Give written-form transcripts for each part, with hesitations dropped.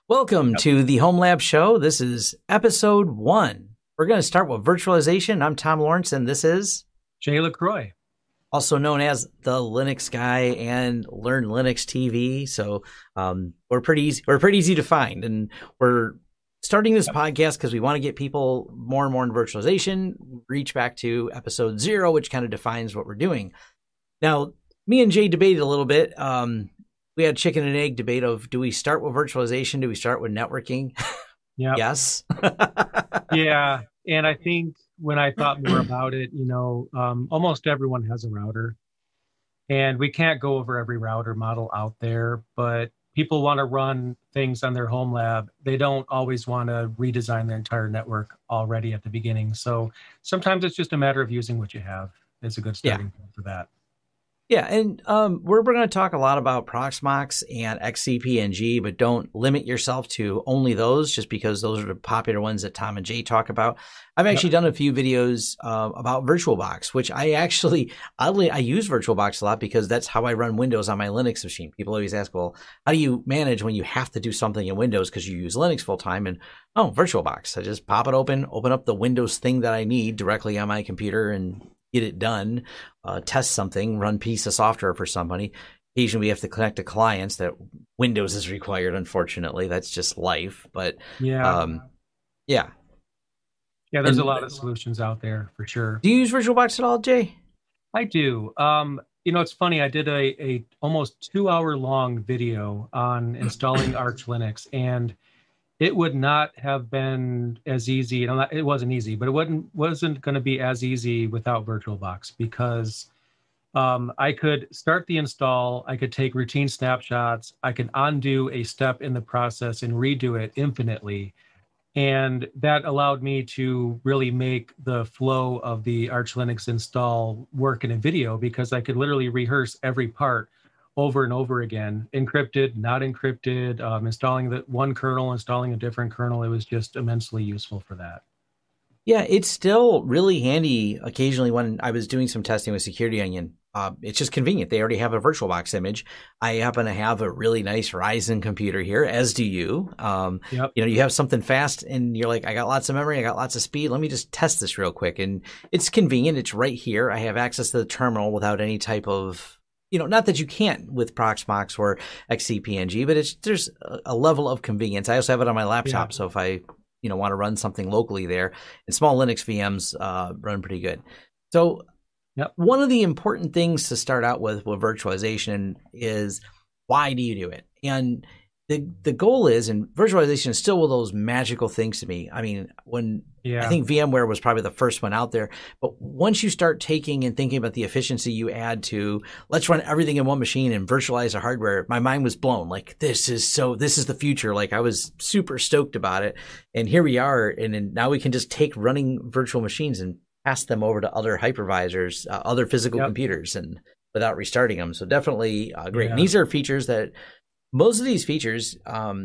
Welcome to the Home Lab Show. This is episode 1. We're going to start with virtualization. I'm Tom Lawrence, and this is Jay LaCroix, also known as the Linux Guy and Learn Linux TV. So we're pretty easy. We're pretty easy to find, and we're starting this podcast because we want to get people more and more in virtualization. Reach back to episode 0, which kind of defines what we're doing. Now, me and Jay debated a little bit. We had chicken and egg debate of, do we start with virtualization? Do we start with networking? Yeah. Yes. Yeah. And I think when I thought more about it, almost everyone has a router, and we can't go over every router model out there, but people want to run things on their home lab. They don't always want to redesign their entire network already at the beginning. So sometimes it's just a matter of using what you have. It's a good starting point for that. Yeah, and we're going to talk a lot about Proxmox and XCP-ng, but don't limit yourself to only those, just because those are the popular ones that Tom and Jay talk about. I've actually done a few videos about VirtualBox, which I actually, oddly, I use VirtualBox a lot because that's how I run Windows on my Linux machine. People always ask, well, how do you manage when you have to do something in Windows because you use Linux full time? And VirtualBox. I just pop it open up the Windows thing that I need directly on my computer and get it done, test something, run piece of software for somebody. Occasionally we have to connect to clients that Windows is required, unfortunately. That's just life. But yeah, there's a lot of solutions out there for sure. Do you use VirtualBox at all, Jay? I do. It's funny. I did a almost 2-hour long video on installing Arch Linux, and it would not have been as easy. It wasn't easy, but it wasn't going to be as easy without VirtualBox, because I could start the install. I could take routine snapshots. I could undo a step in the process and redo it infinitely. And that allowed me to really make the flow of the Arch Linux install work in a video, because I could literally rehearse every part over and over again, encrypted, not encrypted, installing the one kernel, installing a different kernel. It was just immensely useful for that. Yeah, it's still really handy occasionally when I was doing some testing with Security Onion. It's just convenient. They already have a VirtualBox image. I happen to have a really nice Ryzen computer here, as do you. Yep. You have something fast and you're like, I got lots of memory, I got lots of speed. Let me just test this real quick. And it's convenient. It's right here. I have access to the terminal without any type of, not that you can't with Proxmox or XCP-ng, but there's a level of convenience. I also have it on my laptop, so if I want to run something locally there, and small Linux VMs run pretty good. So one of the important things to start out with virtualization is, why do you do it? And the goal is, and virtualization is still one of those magical things to me. I mean, I think VMware was probably the first one out there, but once you start taking and thinking about the efficiency you add to, let's run everything in one machine and virtualize the hardware, my mind was blown. Like, this is the future. Like, I was super stoked about it. And here we are. And now we can just take running virtual machines and pass them over to other hypervisors, other physical computers, and without restarting them. So definitely great. And these are features that, most of these features,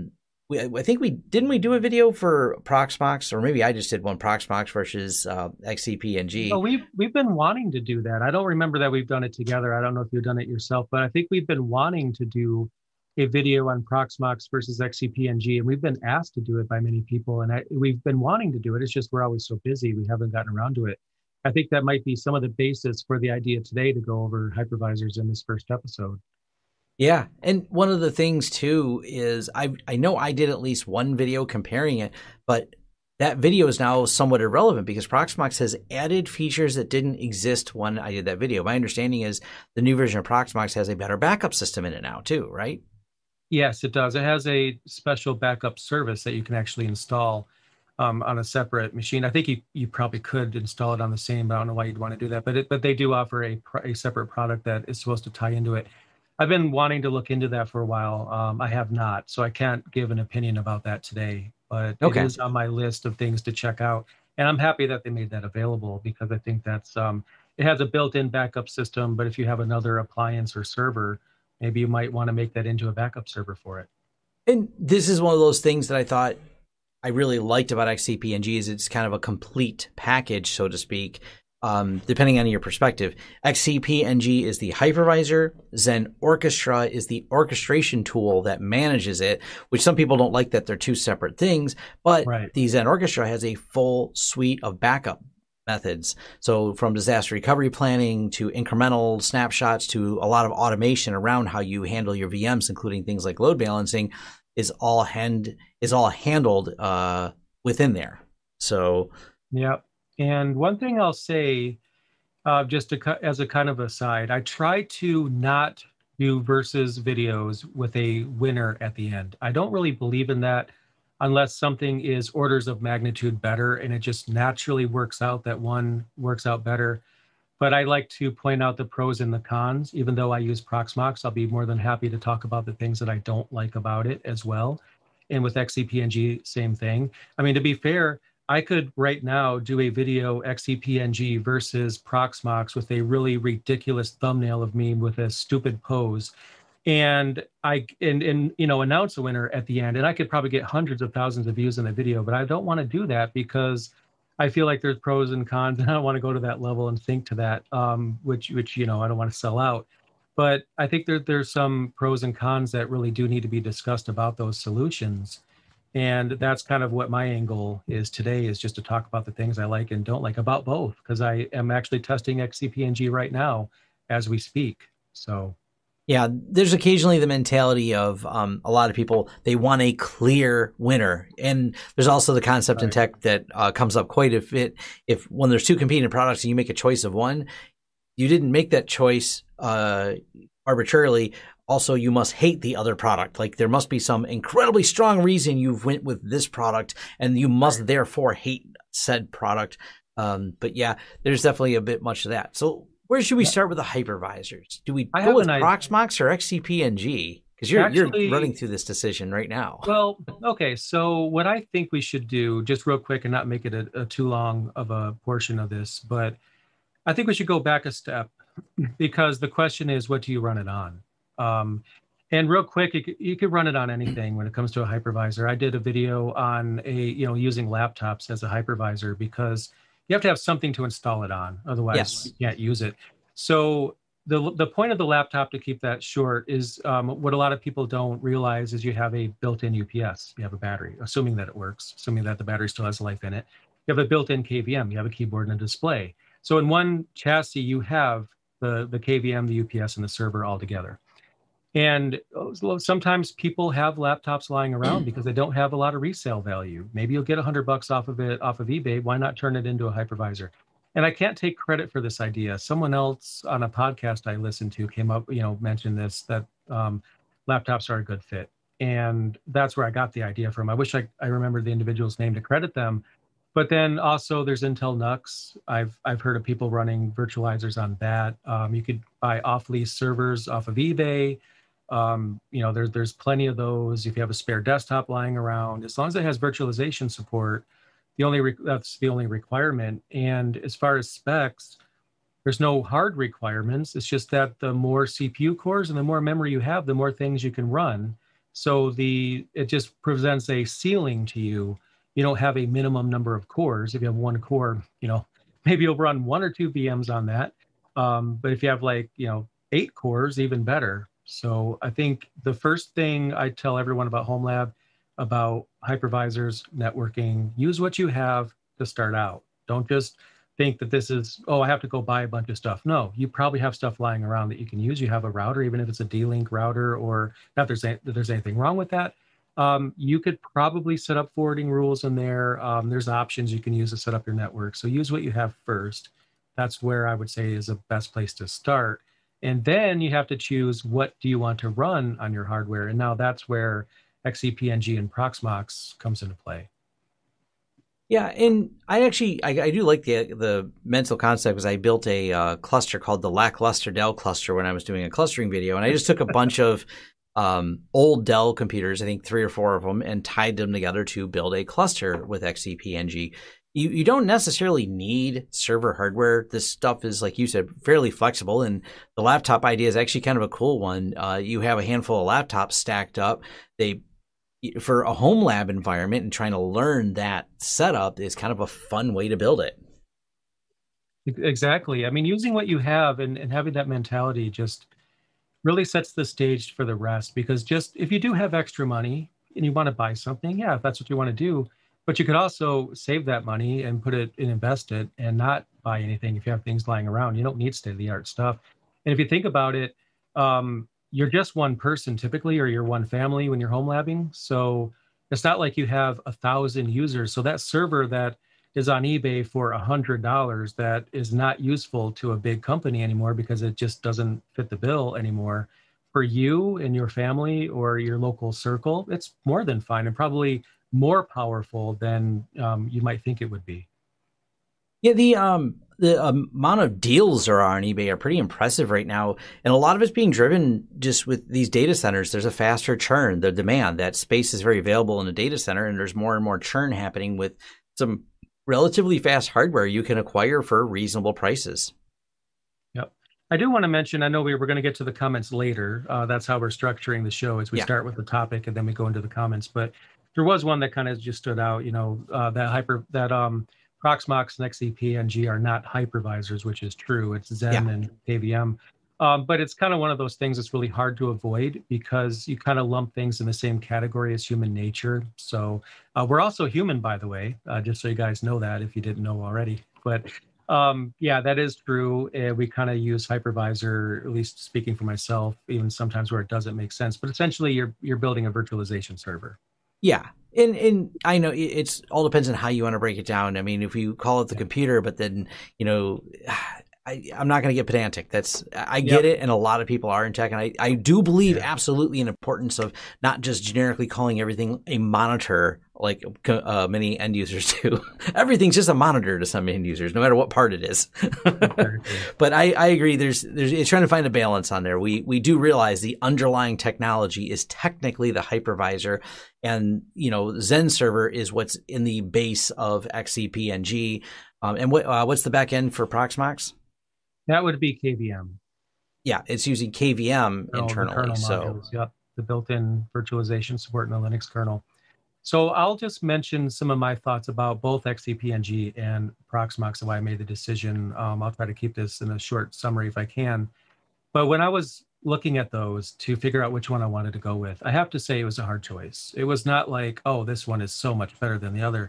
I think we do a video for Proxmox, or maybe I just did one, Proxmox versus XCP-ng. Oh, we've been wanting to do that. I don't remember that we've done it together. I don't know if you've done it yourself, but I think we've been wanting to do a video on Proxmox versus XCP-ng, and we've been asked to do it by many people, and we've been wanting to do it. It's just we're always so busy, we haven't gotten around to it. I think that might be some of the basis for the idea today to go over hypervisors in this first episode. Yeah. And one of the things too is I know I did at least one video comparing it, but that video is now somewhat irrelevant because Proxmox has added features that didn't exist when I did that video. My understanding is the new version of Proxmox has a better backup system in it now too, right? Yes, it does. It has a special backup service that you can actually install on a separate machine. I think you probably could install it on the same, but I don't know why you'd want to do that. But they do offer a separate product that is supposed to tie into it. I've been wanting to look into that for a while. I have not, so I can't give an opinion about that today, but it is on my list of things to check out. And I'm happy that they made that available, because I think that's it has a built-in backup system, but if you have another appliance or server, maybe you might want to make that into a backup server for it. And this is one of those things that I thought I really liked about XCP-ng is it's kind of a complete package, so to speak. depending on your perspective. XCP-ng is the hypervisor. Zen Orchestra is the orchestration tool that manages it, which some people don't like that they're two separate things, but the Zen Orchestra has a full suite of backup methods. So from disaster recovery planning to incremental snapshots to a lot of automation around how you handle your VMs, including things like load balancing, is all handled within there. So, yeah. And one thing I'll say, as a kind of aside, I try to not do versus videos with a winner at the end. I don't really believe in that unless something is orders of magnitude better and it just naturally works out that one works out better. But I like to point out the pros and the cons. Even though I use Proxmox, I'll be more than happy to talk about the things that I don't like about it as well. And with XCP-ng, same thing. I mean, to be fair, I could right now do a video XCP-ng versus Proxmox with a really ridiculous thumbnail of me with a stupid pose, and announce a winner at the end, and I could probably get hundreds of thousands of views in the video. But I don't want to do that because I feel like there's pros and cons, and I don't want to go to that level and think to that, which I don't want to sell out. But I think there's some pros and cons that really do need to be discussed about those solutions. And that's kind of what my angle is today, is just to talk about the things I like and don't like about both, because I am actually testing XCP-ng right now as we speak. So, yeah, there's occasionally the mentality of a lot of people, they want a clear winner. And there's also the concept in tech that comes up quite a bit. If when there's two competing products and you make a choice of one, you didn't make that choice arbitrarily. Also, you must hate the other product. Like, there must be some incredibly strong reason you went with this product, and you must therefore hate said product. But yeah, there's definitely a bit much of that. So where should we start with the hypervisors? Do we go with Proxmox or XCP-ng? Because you're running through this decision right now. Well, okay. So what I think we should do, just real quick and not make it a too long of a portion of this, but I think we should go back a step, because the question is, what do you run it on? And real quick, you could run it on anything when it comes to a hypervisor. I did a video on using laptops as a hypervisor, because you have to have something to install it on. Otherwise, you can't use it. So the point of the laptop, to keep that short, is what a lot of people don't realize is you have a built-in UPS. You have a battery, assuming that it works, assuming that the battery still has life in it. You have a built-in KVM. You have a keyboard and a display. So in one chassis, you have the KVM, the UPS, and the server all together. And sometimes people have laptops lying around because they don't have a lot of resale value. Maybe you'll get $100 off of it off of eBay. Why not turn it into a hypervisor? And I can't take credit for this idea. Someone else on a podcast I listened to came up, mentioned this, that laptops are a good fit. And that's where I got the idea from. I wish I remembered the individual's name to credit them. But then also there's Intel NUX. I've heard of people running virtualizers on that. You could buy off-lease servers off of eBay. There's plenty of those. If you have a spare desktop lying around, as long as it has virtualization support, that's the only requirement. And as far as specs, there's no hard requirements. It's just that the more CPU cores and the more memory you have, the more things you can run. So it just presents a ceiling to you. You don't have a minimum number of cores. If you have one core, maybe you'll run 1 or 2 VMs on that. But if you have 8 cores, even better. So I think the first thing I tell everyone about HomeLab, about hypervisors, networking, use what you have to start out. Don't just think that this is, I have to go buy a bunch of stuff. No, you probably have stuff lying around that you can use. You have a router, even if it's a D-Link router, or not that there's anything wrong with that. You could probably set up forwarding rules in there. There's options you can use to set up your network. So use what you have first. That's where I would say is the best place to start. And then you have to choose, what do you want to run on your hardware? And now that's where XCP-ng and Proxmox comes into play. Yeah, and I do like the mental concept, because I built a cluster called the Lackluster Dell cluster when I was doing a clustering video. And I just took a bunch of old Dell computers, I think 3 or 4 of them, and tied them together to build a cluster with XCP-ng. You don't necessarily need server hardware. This stuff is, like you said, fairly flexible, and the laptop idea is actually kind of a cool one. You have a handful of laptops stacked up. For a home lab environment, and trying to learn that setup is kind of a fun way to build it. Exactly. I mean, using what you have and having that mentality just really sets the stage for the rest. Because just if you do have extra money and you want to buy something, yeah, if that's what you want to do, but you could also save that money and put it and invest it and not buy anything if you have things lying around. You don't need state of the art stuff. And if you think about it, you're just one person typically, or you're one family when you're home labbing. So it's not like you have 1,000 users. So that server that is on eBay for $100 that is not useful to a big company anymore because it just doesn't fit the bill anymore. For you and your family or your local circle, it's more than fine and probably more powerful than you might think it would be. Yeah, the amount of deals there are on eBay are pretty impressive right now, and a lot of it's being driven just with these data centers. There's a faster churn, the demand, that space is very available in a data center, and there's more and more churn happening with some relatively fast hardware you can acquire for reasonable prices. Yep. I do want to mention, I know we were going to get to the comments later. That's how we're structuring the show, is we Yeah, start with the topic and then we go into the comments. But there was one that kind of just stood out, that Proxmox and XCP-NG are not hypervisors, which is true. It's yeah. Zen and KVM. But it's kind of one of those things that's really hard to avoid because you kind of lump things in the same category as human nature. So we're also human, by the way, just so you guys know that if you didn't know already. But yeah, that is true. We kind of use hypervisor, at least speaking for myself, even sometimes where it doesn't make sense. But essentially, you're building a virtualization server. Yeah. And I know it's all depends on how you want to break it down. I mean, if you call it the Yeah. computer, but then, I'm not going to get pedantic. I get Yep. it. And a lot of people are in tech. And I do believe Yeah. absolutely in importance of not just generically calling everything a monitor like many end users do. Everything's just a monitor to some end users, no matter what part it is. But I agree. There's it's trying to find a balance on there. We do realize the underlying technology is technically the hypervisor, and Zen server is what's in the base of XCP-NG. And what's the back end for Proxmox? That would be KVM. Yeah, it's using KVM The internally. kernel So modules. Yep. The built-in virtualization support in the Linux kernle. So I'll just mention some of my thoughts about both XCP-NG and Proxmox and why I made the decision. I'll try to keep this in a short summary if I can. But when I was looking at those to figure out which one I wanted to go with, I have to say it was a hard choice. It was not like, oh, this one is so much better than the other.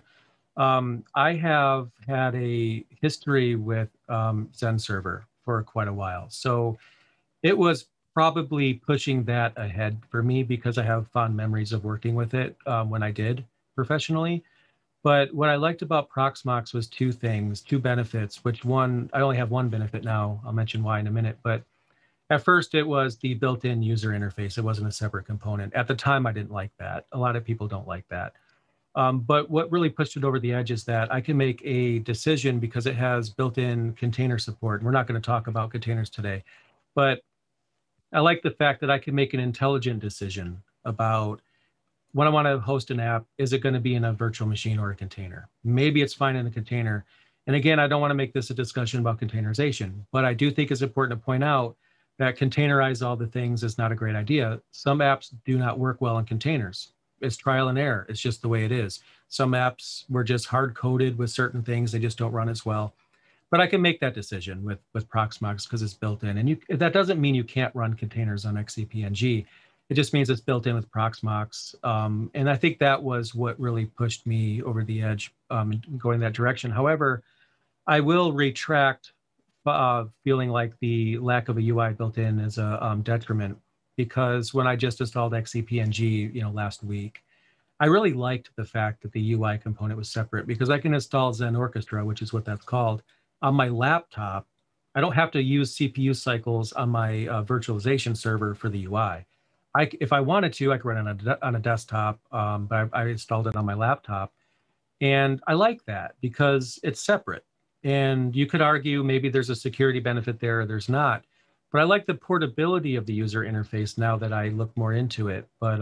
I have had a history with Zen Server for quite a while. So it was probably pushing that ahead for me because I have fond memories of working with it when I did professionally. But what I liked about Proxmox was two things, two benefits, which one, I only have one benefit now. I'll mention why in a minute. But at first, it was the built-in user interface. It wasn't a separate component. At the time, I didn't like that. A lot of people don't like that. But what really pushed it over the edge is that I can make a decision because it has built-in container support. We're not going to talk about containers today, but I like the fact that I can make an intelligent decision about when I want to host an app. Is it going to be in a virtual machine or a container? Maybe it's fine in a container. And again, I don't want to make this a discussion about containerization, but I do think it's important to point out that containerize all the things is not a great idea. Some apps do not work well in containers. It's trial and error. It's just the way it is. Some apps were just hard coded with certain things. They just don't run as well. But I can make that decision with Proxmox because it's built in. And that doesn't mean you can't run containers on XCP-NG. It just means it's built in with Proxmox. And I think that was what really pushed me over the edge going that direction. However, I will retract feeling like the lack of a UI built in is a detriment, because when I just installed XCP-NG, last week, I really liked the fact that the UI component was separate because I can install Zen Orchestra, which is what that's called, on my laptop. I don't have to use CPU cycles on my virtualization server for the UI. If I wanted to, I could run it on a desktop, but I installed it on my laptop. And I like that because it's separate. And you could argue maybe there's a security benefit there or there's not. But I like the portability of the user interface now that I look more into it. But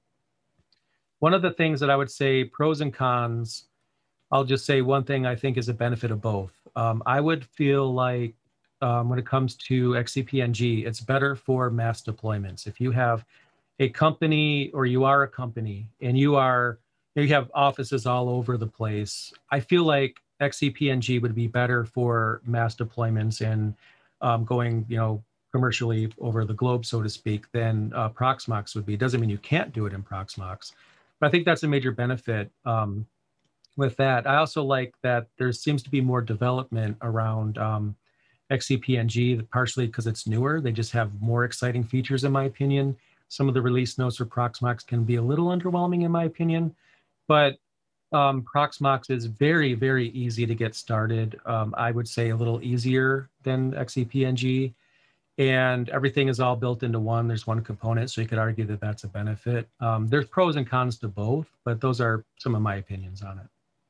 one of the things that I would say, pros and cons, I'll just say one thing I think is a benefit of both. I would feel like when it comes to XCP-NG, it's better for mass deployments. If you have a company or you are a company and you have offices all over the place, I feel like XCP-ng would be better for mass deployments and going, commercially over the globe, so to speak, than Proxmox would be. It doesn't mean you can't do it in Proxmox, but I think that's a major benefit with that. I also like that there seems to be more development around XCP-ng, partially because it's newer. They just have more exciting features, in my opinion. Some of the release notes for Proxmox can be a little underwhelming, in my opinion, but Proxmox is very, very easy to get started. I would say a little easier than XCP-ng, and everything is all built into one. There's one component, so you could argue that that's a benefit. There's pros and cons to both, but those are some of my opinions on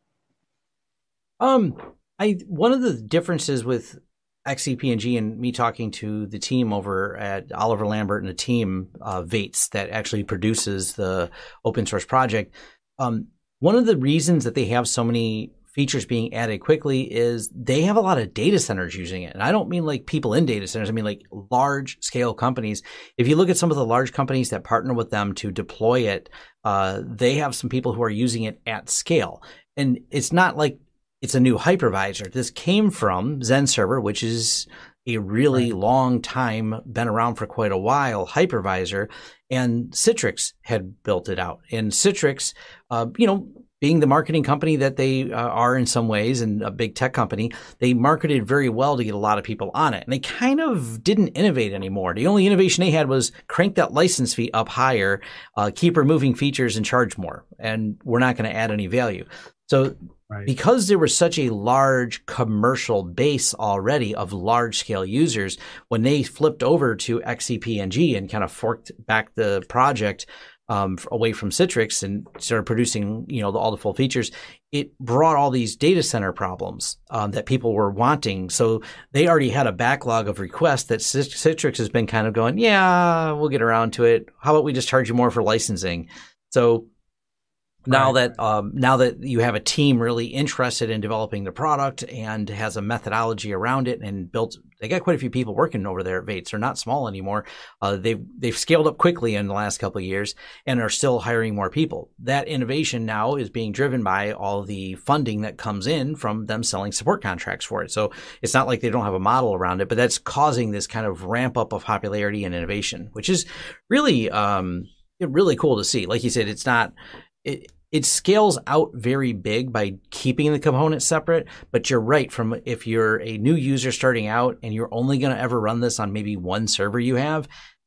it. One of the differences with XCP-ng and me talking to the team over at Oliver Lambert and the team, Vates, that actually produces the open source project. One of the reasons that they have so many features being added quickly is they have a lot of data centers using it. And I don't mean like people in data centers. I mean like large scale companies. If you look at some of the large companies that partner with them to deploy it, they have some people who are using it at scale. And it's not like it's a new hypervisor. This came from XenServer, which is a really long time, been around for quite a while, hypervisor, and Citrix had built it out. And Citrix, being the marketing company that they are in some ways and a big tech company, they marketed very well to get a lot of people on it. And they kind of didn't innovate anymore. The only innovation they had was crank that license fee up higher, keep removing features and charge more. And we're not going to add any value. So because there was such a large commercial base already of large scale users, when they flipped over to XCP-ng and kind of forked back the project away from Citrix and started producing, all the full features, it brought all these data center problems that people were wanting. So they already had a backlog of requests that Citrix has been kind of going, yeah, we'll get around to it. How about we just charge you more for licensing? So now that you have a team really interested in developing the product and has a methodology around it and they got quite a few people working over there at Vates. They're not small anymore. They've scaled up quickly in the last couple of years and are still hiring more people. That innovation now is being driven by all the funding that comes in from them selling support contracts for it. So it's not like they don't have a model around it, but that's causing this kind of ramp up of popularity and innovation, which is really, really cool to see. Like you said, it scales out very big by keeping the components separate, but you're right. If you're a new user starting out and you're only going to ever run this on maybe one server you have,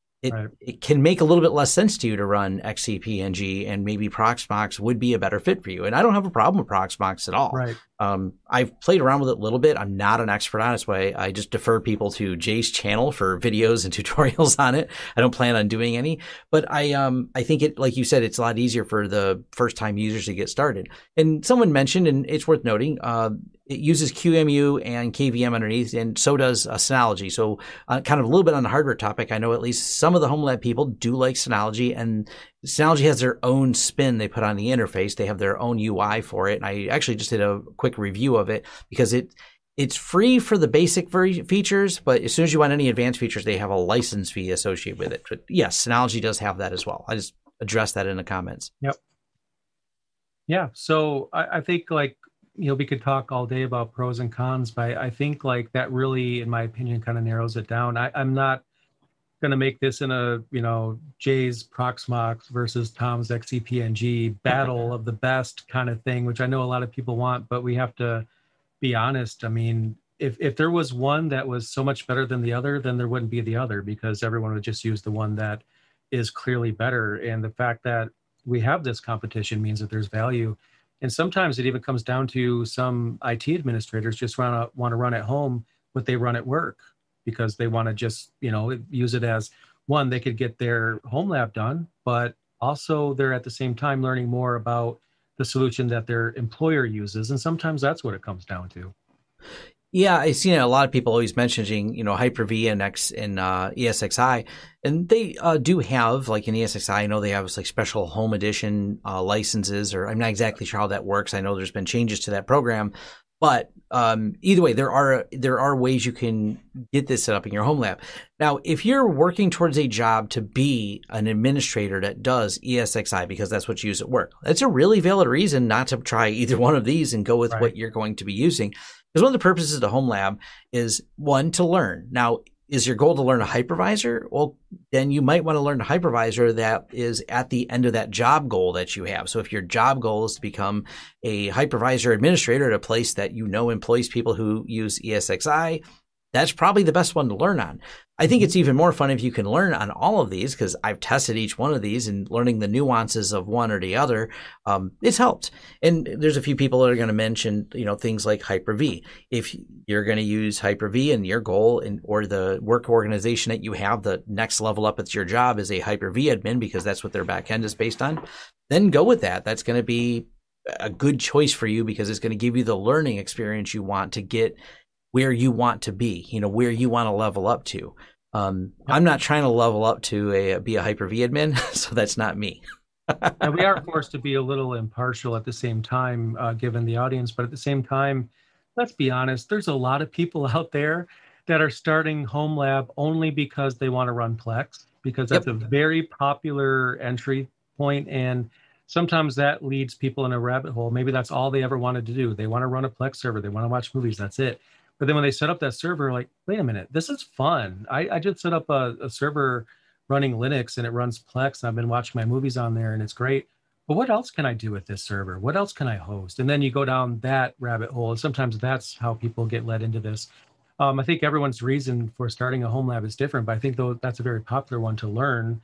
it can make a little bit less sense to you to run XCP-ng, and maybe Proxmox would be a better fit for you. And I don't have a problem with Proxmox at all. Right. I've played around with it a little bit. I'm not an expert on its way. I just defer people to Jay's channel for videos and tutorials on it. I don't plan on doing any, but I think it, like you said, it's a lot easier for the first time users to get started. And someone mentioned, and it's worth noting, it uses QEMU and KVM underneath, and so does Synology. So kind of a little bit on the hardware topic, I know at least some of the home lab people do like Synology, and Synology has their own spin they put on the interface. They have their own UI for it. And I actually just did a quick review of it because it's free for the basic features, but as soon as you want any advanced features, they have a license fee associated with it. But yes, Synology does have that as well. I just addressed that in the comments. Yep. Yeah. So I think we could talk all day about pros and cons, but I think that really, in my opinion, kind of narrows it down. I'm not going to make this in a, Jay's Proxmox versus Tom's XCP-ng battle of the best kind of thing, which I know a lot of people want, but we have to be honest. I mean, if there was one that was so much better than the other, then there wouldn't be the other, because everyone would just use the one that is clearly better. And the fact that we have this competition means that there's value. And sometimes it even comes down to some IT administrators just want to run at home what they run at work, because they want to just, use it as one, they could get their home lab done, but also they're at the same time learning more about the solution that their employer uses. And sometimes that's what it comes down to. Yeah, I've seen a lot of people always mentioning, Hyper-V and ESXi, and they do have, like in ESXi, I know they have special home edition licenses, or I'm not exactly sure how that works. I know there's been changes to that program, But either way, there are ways you can get this set up in your home lab. Now, if you're working towards a job to be an administrator that does ESXi because that's what you use at work, that's a really valid reason not to try either one of these and go with what you're going to be using. Because one of the purposes of the home lab is, one, to learn. Now, is your goal to learn a hypervisor? Well, then you might want to learn a hypervisor that is at the end of that job goal that you have. So if your job goal is to become a hypervisor administrator at a place that you know employs people who use ESXi, that's probably the best one to learn on. I think it's even more fun if you can learn on all of these, because I've tested each one of these and learning the nuances of one or the other. It's helped. And there's a few people that are going to mention, things like Hyper-V. If you're going to use Hyper-V and your goal or the work organization that you have, the next level up at your job is a Hyper-V admin because that's what their back end is based on, then go with that. That's going to be a good choice for you because it's going to give you the learning experience you want to get where you want to be, where you want to level up to. I'm not trying to level up to be a Hyper-V admin, so that's not me. And we are forced to be a little impartial at the same time, given the audience. But at the same time, let's be honest, there's a lot of people out there that are starting home lab only because they want to run Plex, because that's a very popular entry point. And sometimes that leads people in a rabbit hole. Maybe that's all they ever wanted to do. They want to run a Plex server. They want to watch movies. That's it. But then when they set up that server, like, wait a minute, this is fun. I just set up a server running Linux and it runs Plex. And I've been watching my movies on there and it's great. But what else can I do with this server? What else can I host? And then you go down that rabbit hole. And sometimes that's how people get led into this. I think everyone's reason for starting a home lab is different, but I think that's a very popular one to learn,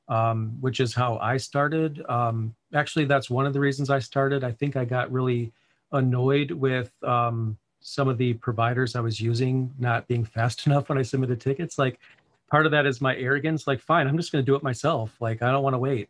which is how I started. Actually, that's one of the reasons I started. I think I got really annoyed with some of the providers I was using not being fast enough when I submitted tickets. Like, part of that is my arrogance. Like, fine, I'm just going to do it myself. Like, I don't want to wait.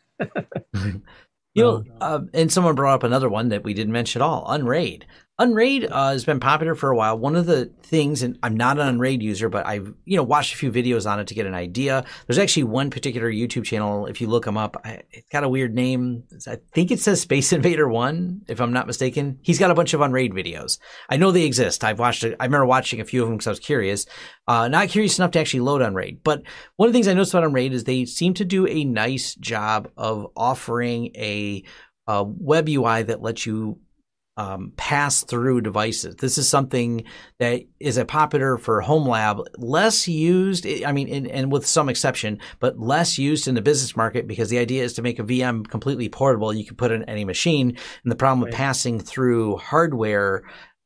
And someone brought up another one that we didn't mention at all, Unraid. Unraid has been popular for a while. One of the things, and I'm not an Unraid user, but I've watched a few videos on it to get an idea. There's actually one particular YouTube channel, if you look them up, it's got a weird name. I think it says Space Invader 1, if I'm not mistaken. He's got a bunch of Unraid videos. I know they exist. I remember watching a few of them because I was curious. Not curious enough to actually load Unraid. But one of the things I noticed about Unraid is they seem to do a nice job of offering a web UI that lets you pass through devices. This is something that is a popular for home lab, less used, and with some exception, but less used in the business market because the idea is to make a VM completely portable. You can put it in any machine. And the problem with passing through hardware,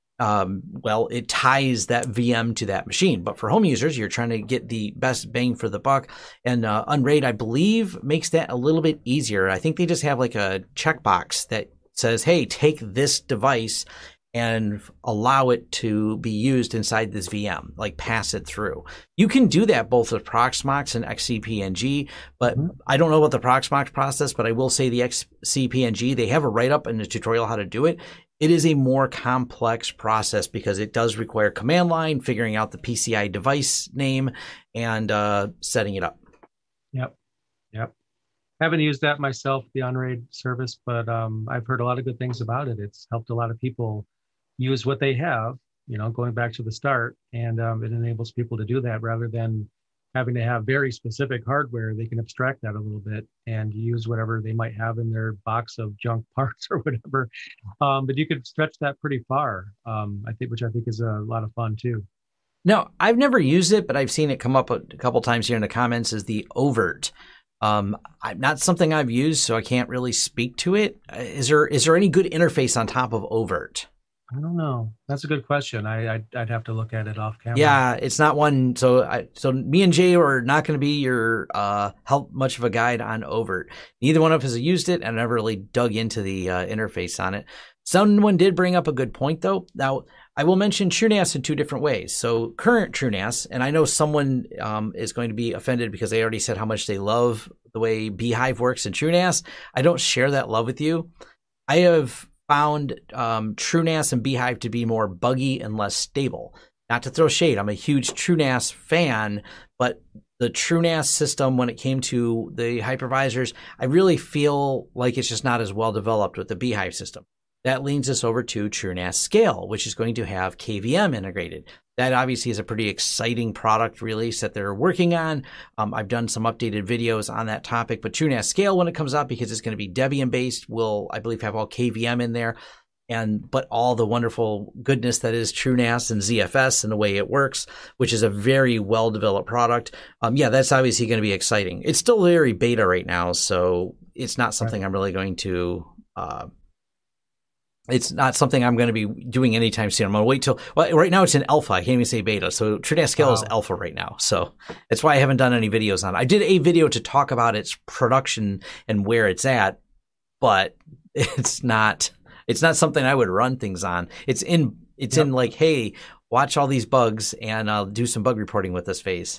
it ties that VM to that machine. But for home users, you're trying to get the best bang for the buck. And Unraid, I believe, makes that a little bit easier. I think they just have like a checkbox that says, hey, take this device and allow it to be used inside this VM, like pass it through. You can do that both with Proxmox and XCP-ng, but I don't know about the Proxmox process, but I will say the XCP-ng, they have a write-up in the tutorial how to do it. It is a more complex process because it does require command line, figuring out the PCI device name, and setting it up. Yep. Haven't used that myself, the Unraid service, but I've heard a lot of good things about it. It's helped a lot of people use what they have, going back to the start, and it enables people to do that rather than having to have very specific hardware. They can abstract that a little bit and use whatever they might have in their box of junk parts or whatever. But you could stretch that pretty far, which I think is a lot of fun too. No, I've never used it, but I've seen it come up a couple times here in the comments as the Overt. Not something I've used, so I can't really speak to it. Is there any good interface on top of Overt? I don't know. That's a good question. I'd have to look at it off camera. Yeah, it's not one. So me and Jay are not going to be your help much of a guide on Overt. Neither one of us has used it, and I never really dug into the interface on it. Someone did bring up a good point, though. Now, I will mention TrueNAS in two different ways. So current TrueNAS, and I know someone is going to be offended because they already said how much they love the way Beehive works in TrueNAS. I don't share that love with you. I have found TrueNAS and Beehive to be more buggy and less stable. Not to throw shade, I'm a huge TrueNAS fan, but the TrueNAS system, when it came to the hypervisors, I really feel like it's just not as well developed with the Beehive system. that leads us over to TrueNAS Scale, which is going to have KVM integrated. That obviously is a pretty exciting product release that they're working on. I've done some updated videos on that topic, but TrueNAS Scale, when it comes out, because it's going to be Debian based, will, I believe, have all KVM in there. But all the wonderful goodness that is TrueNAS and ZFS and the way it works, which is a very well-developed product. Yeah, that's obviously going to be exciting. It's still very beta right now, so it's not something I'm really going to... it's not something I'm going to be doing anytime soon. I'm going to wait till... Well, right now it's in alpha. I can't even say beta. So TrueNAS Scale is alpha right now. So that's why I haven't done any videos on it. I did a video to talk about its production and where it's at, but it's not something I would run things on. It's in like, hey, watch all these bugs and I'll do some bug reporting with this phase.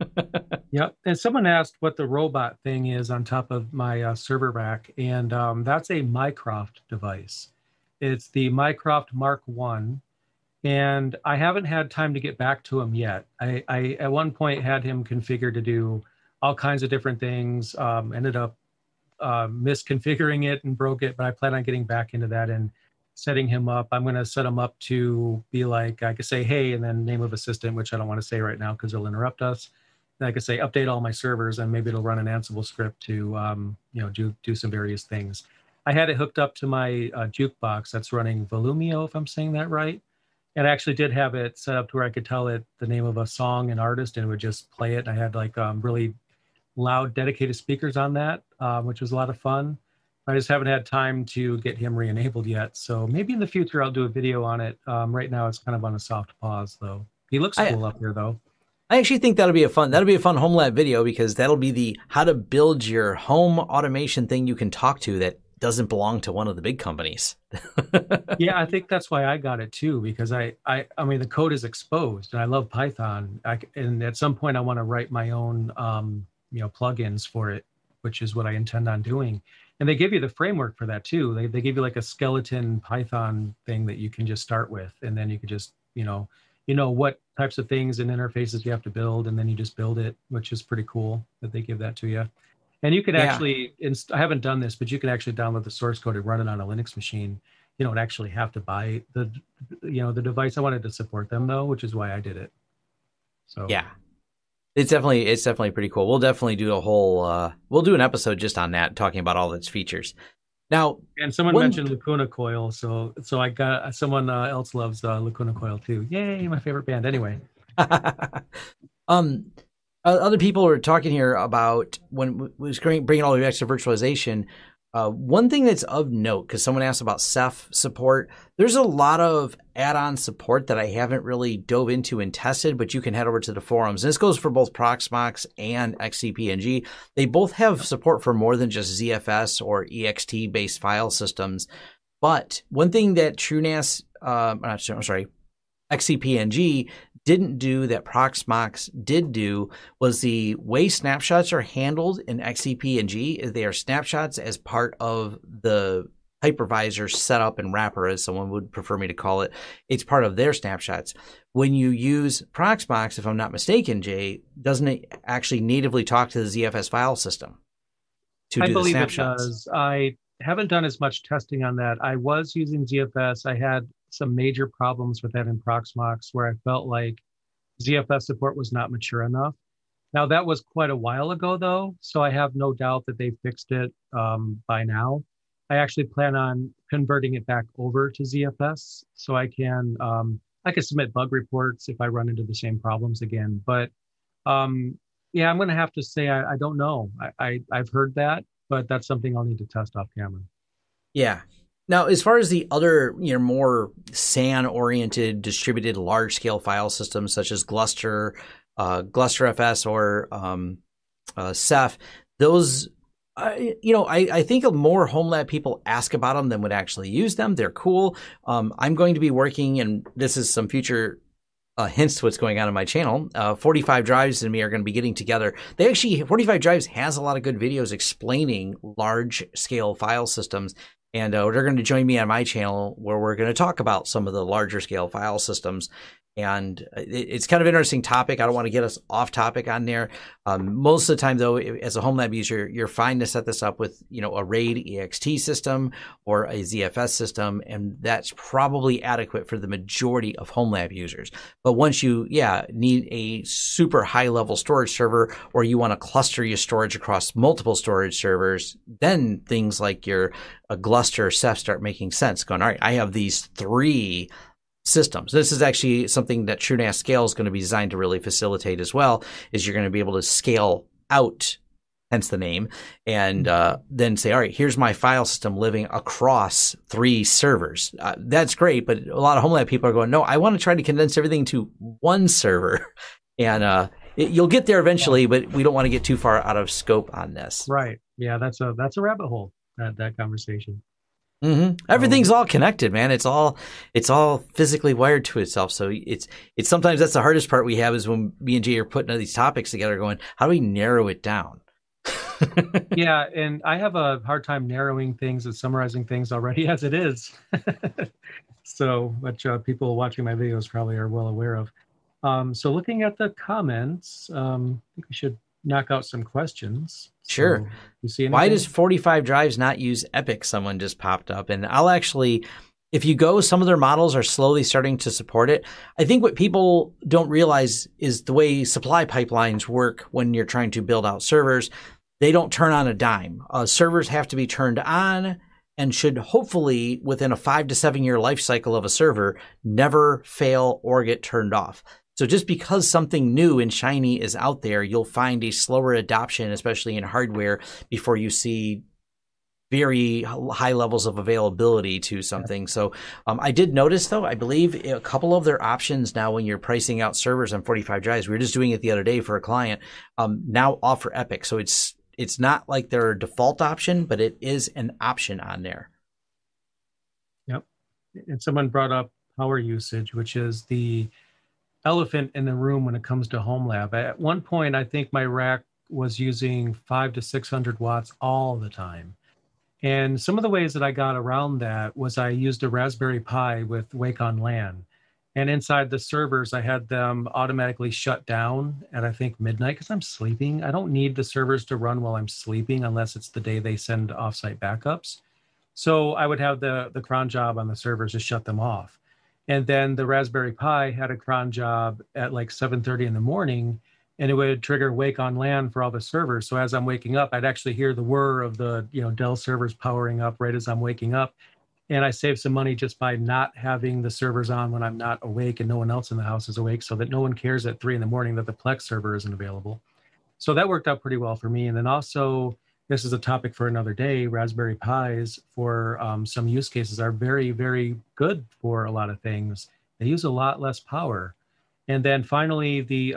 Yep. And someone asked what the robot thing is on top of my server rack. And that's a Mycroft device. It's the Mycroft Mark I. And I haven't had time to get back to him yet. I at one point had him configured to do all kinds of different things, ended up misconfiguring it and broke it, but I plan on getting back into that and setting him up. I'm going to set him up to be like, I could say, hey, and then name of assistant, which I don't want to say right now because it'll interrupt us. And I could say, update all my servers, and maybe it'll run an Ansible script to, do some various things. I had it hooked up to my jukebox that's running Volumio, if I'm saying that right. And I actually did have it set up to where I could tell it the name of a song and artist, and it would just play it. I had like really loud dedicated speakers on that, which was a lot of fun. I just haven't had time to get him re-enabled yet. So maybe in the future I'll do a video on it. Right now it's kind of on a soft pause though. He looks cool up here though. I actually think that'll be a fun home lab video, because that'll be the how to build your home automation thing you can talk to that doesn't belong to one of the big companies. Yeah, I think that's why I got it too, because I mean the code is exposed and I love Python. And at some point I want to write my own plugins for it, which is what I intend on doing. And they give you the framework for that too. They give you like a skeleton Python thing that you can just start with, and then you could just what types of things and interfaces you have to build, and then you just build it, which is pretty cool that they give that to you. And you could actually, I haven't done this, but you can actually download the source code and run it on a Linux machine. You don't actually have to buy the device. I wanted to support them though, which is why I did it. So yeah. It's definitely pretty cool. We'll definitely do a whole, we'll do an episode just on that, talking about all its features. Now, and someone mentioned Lacuna Coil, so I got someone else loves Lacuna Coil too. Yay, my favorite band. Anyway, other people are talking here about when we was bringing all the extra virtualization. One thing that's of note, because someone asked about Ceph support, there's a lot of add-on support that I haven't really dove into and tested, but you can head over to the forums. And this goes for both Proxmox and XCP-ng. They both have support for more than just ZFS or EXT-based file systems. But one thing that XCP-ng didn't do that Proxmox did do was the way snapshots are handled in XCP-ng. They are snapshots as part of the hypervisor setup and wrapper, as someone would prefer me to call it. It's part of their snapshots. When you use Proxmox, if I'm not mistaken, Jay, doesn't it actually natively talk to the ZFS file system to do the snapshots? I believe it does. I haven't done as much testing on that. I was using ZFS. I had some major problems with that in Proxmox where I felt like ZFS support was not mature enough. Now that was quite a while ago though, so I have no doubt that they fixed it by now. I actually plan on converting it back over to ZFS so I can submit bug reports if I run into the same problems again. But yeah, I'm going to have to say I don't know. I've heard that, but that's something I'll need to test off camera. Yeah. Now, as far as the other, more SAN-oriented distributed large-scale file systems such as Gluster, GlusterFS, or Ceph, those, I think more home lab people ask about them than would actually use them. They're cool. I'm going to be working, and this is some future hints to what's going on my channel. 45 Drives and me are going to be getting together. 45 Drives has a lot of good videos explaining large-scale file systems. And they're going to join me on my channel where we're going to talk about some of the larger scale file systems. And it's kind of an interesting topic. I don't want to get us off topic on there. Most of the time, though, as a home lab user, you're fine to set this up with, a RAID EXT system or a ZFS system, and that's probably adequate for the majority of home lab users. But once you, need a super high-level storage server, or you want to cluster your storage across multiple storage servers, then things like your Gluster or Ceph start making sense. Going, all right, I have these 3 systems. This is actually something that TrueNAS Scale is going to be designed to really facilitate as well, is you're going to be able to scale out, hence the name, and then say, all right, here's my file system living across 3 servers. That's great, but a lot of home lab people are going, no, I want to try to condense everything to 1 server. And you'll get there eventually, but we don't want to get too far out of scope on this. Right. Yeah, that's a rabbit hole, that conversation. Mm-hmm. Everything's all connected, man. It's all physically wired to itself. So it's sometimes that's the hardest part we have, is when me and Jay are putting these topics together going, how do we narrow it down? Yeah. And I have a hard time narrowing things and summarizing things already as it is. So, which people watching my videos probably are well aware of. So looking at the comments, I think we should knock out some questions. Sure. So, you see anything? Why does 45 drives not use Epic? Someone just popped up. And I'll actually, if you go, some of their models are slowly starting to support it. I think what people don't realize is the way supply pipelines work when you're trying to build out servers. They don't turn on a dime. Servers have to be turned on and should hopefully, within a 5 to 7 year life cycle of a server, never fail or get turned off. So just because something new and shiny is out there, you'll find a slower adoption, especially in hardware, before you see very high levels of availability to something. So I did notice, though, I believe a couple of their options now when you're pricing out servers on 45 drives, we were just doing it the other day for a client, now offer Epic. So it's not like their default option, but it is an option on there. Yep. And someone brought up power usage, which is the elephant in the room when it comes to home lab. At one point, I think my rack was using 500 to 600 watts all the time. And some of the ways that I got around that was I used a Raspberry Pi with Wake on LAN. And inside the servers, I had them automatically shut down at, I think, midnight, because I'm sleeping. I don't need the servers to run while I'm sleeping unless it's the day they send offsite backups. So I would have the cron job on the servers to shut them off. And then the Raspberry Pi had a cron job at like 7:30 in the morning, and it would trigger Wake on LAN for all the servers. So as I'm waking up, I'd actually hear the whir of the Dell servers powering up right as I'm waking up. And I saved some money just by not having the servers on when I'm not awake and no one else in the house is awake, so that no one cares at 3 in the morning that the Plex server isn't available. So that worked out pretty well for me. And then also, this is a topic for another day, Raspberry Pis for some use cases are very, very good for a lot of things. They use a lot less power. And then finally, the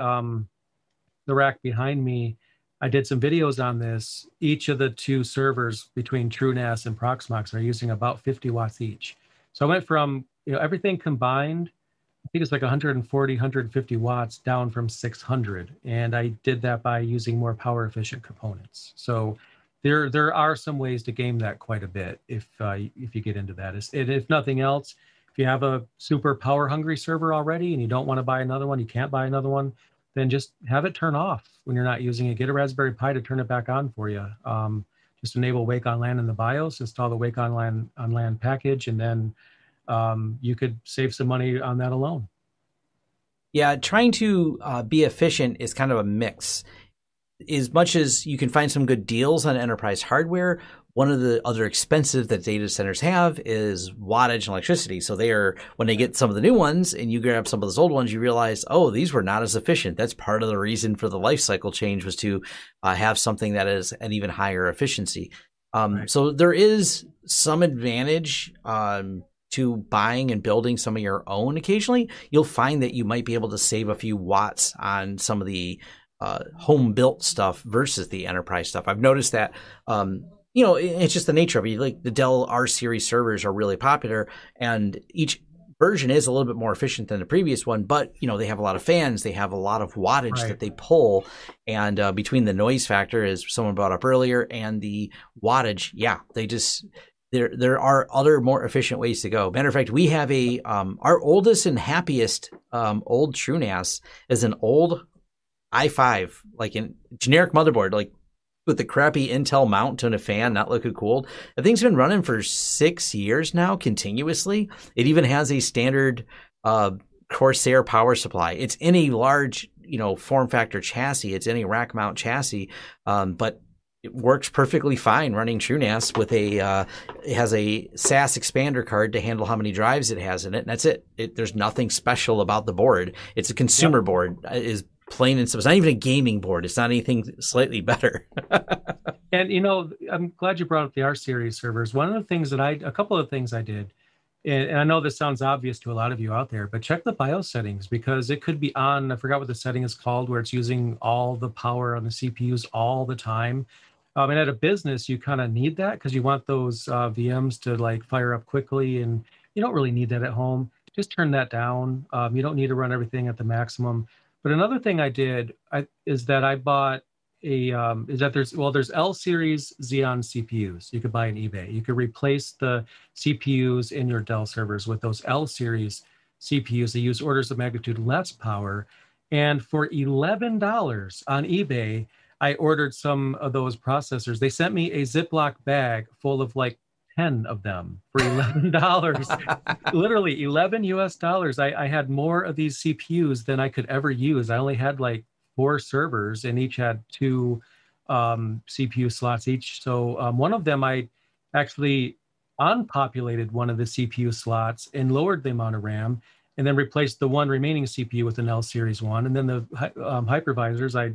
rack behind me, I did some videos on this. Each of the 2 servers between TrueNAS and Proxmox are using about 50 watts each. So I went from everything combined, I think it's like 140, 150 watts down from 600. And I did that by using more power efficient components. So there are some ways to game that quite a bit if you get into that. If nothing else, if you have a super power hungry server already and you don't want to buy another one, you can't buy another one, then just have it turn off when you're not using it. Get a Raspberry Pi to turn it back on for you. Just enable Wake on LAN in the BIOS, install the Wake on LAN package, and then you could save some money on that alone. Yeah, trying to be efficient is kind of a mix. As much as you can find some good deals on enterprise hardware, one of the other expenses that data centers have is wattage and electricity. So when they get some of the new ones and you grab some of those old ones, you realize, oh, these were not as efficient. That's part of the reason for the life cycle change, was to have something that is an even higher efficiency. Right. So there is some advantage to buying and building some of your own. Occasionally, you'll find that you might be able to save a few watts on some of the home built stuff versus the enterprise stuff. I've noticed that, it's just the nature of it. Like the Dell R series servers are really popular, and each version is a little bit more efficient than the previous one, but they have a lot of fans, they have a lot of wattage that they pull, and between the noise factor, as someone brought up earlier, and the wattage, there are other more efficient ways to go. Matter of fact, we have our oldest and happiest old TrueNAS is an old i5, like a generic motherboard, like with the crappy Intel mount and a fan, not looking cool. The thing's been running for 6 years now, continuously. It even has a standard Corsair power supply. It's in a large, form factor chassis. It's in a rack mount chassis, but it works perfectly fine running TrueNAS with it has a SAS expander card to handle how many drives it has in it, and that's it. There's nothing special about the board. It's a consumer board, is plain and simple. It's not even a gaming board. It's not anything slightly better. And, I'm glad you brought up the R series servers. A couple of things I did, and I know this sounds obvious to a lot of you out there, but check the BIOS settings, because it could be on, I forgot what the setting is called, where it's using all the power on the CPUs all the time. And at a business, you kind of need that because you want those VMs to like fire up quickly, and you don't really need that at home. Just turn that down. You don't need to run everything at the maximum. But another thing I did is that I bought there's L series Xeon CPUs you could buy on eBay. You could replace the CPUs in your Dell servers with those L series CPUs. They use orders of magnitude less power. And for $11 on eBay, I ordered some of those processors. They sent me a Ziploc bag full of like 10 of them for $11. Literally 11 US dollars. I had more of these CPUs than I could ever use. I only had like 4 servers, and each had 2 CPU slots each. So one of them, I actually unpopulated one of the CPU slots and lowered the amount of RAM, and then replaced the one remaining CPU with an L series one. And then the hypervisors, I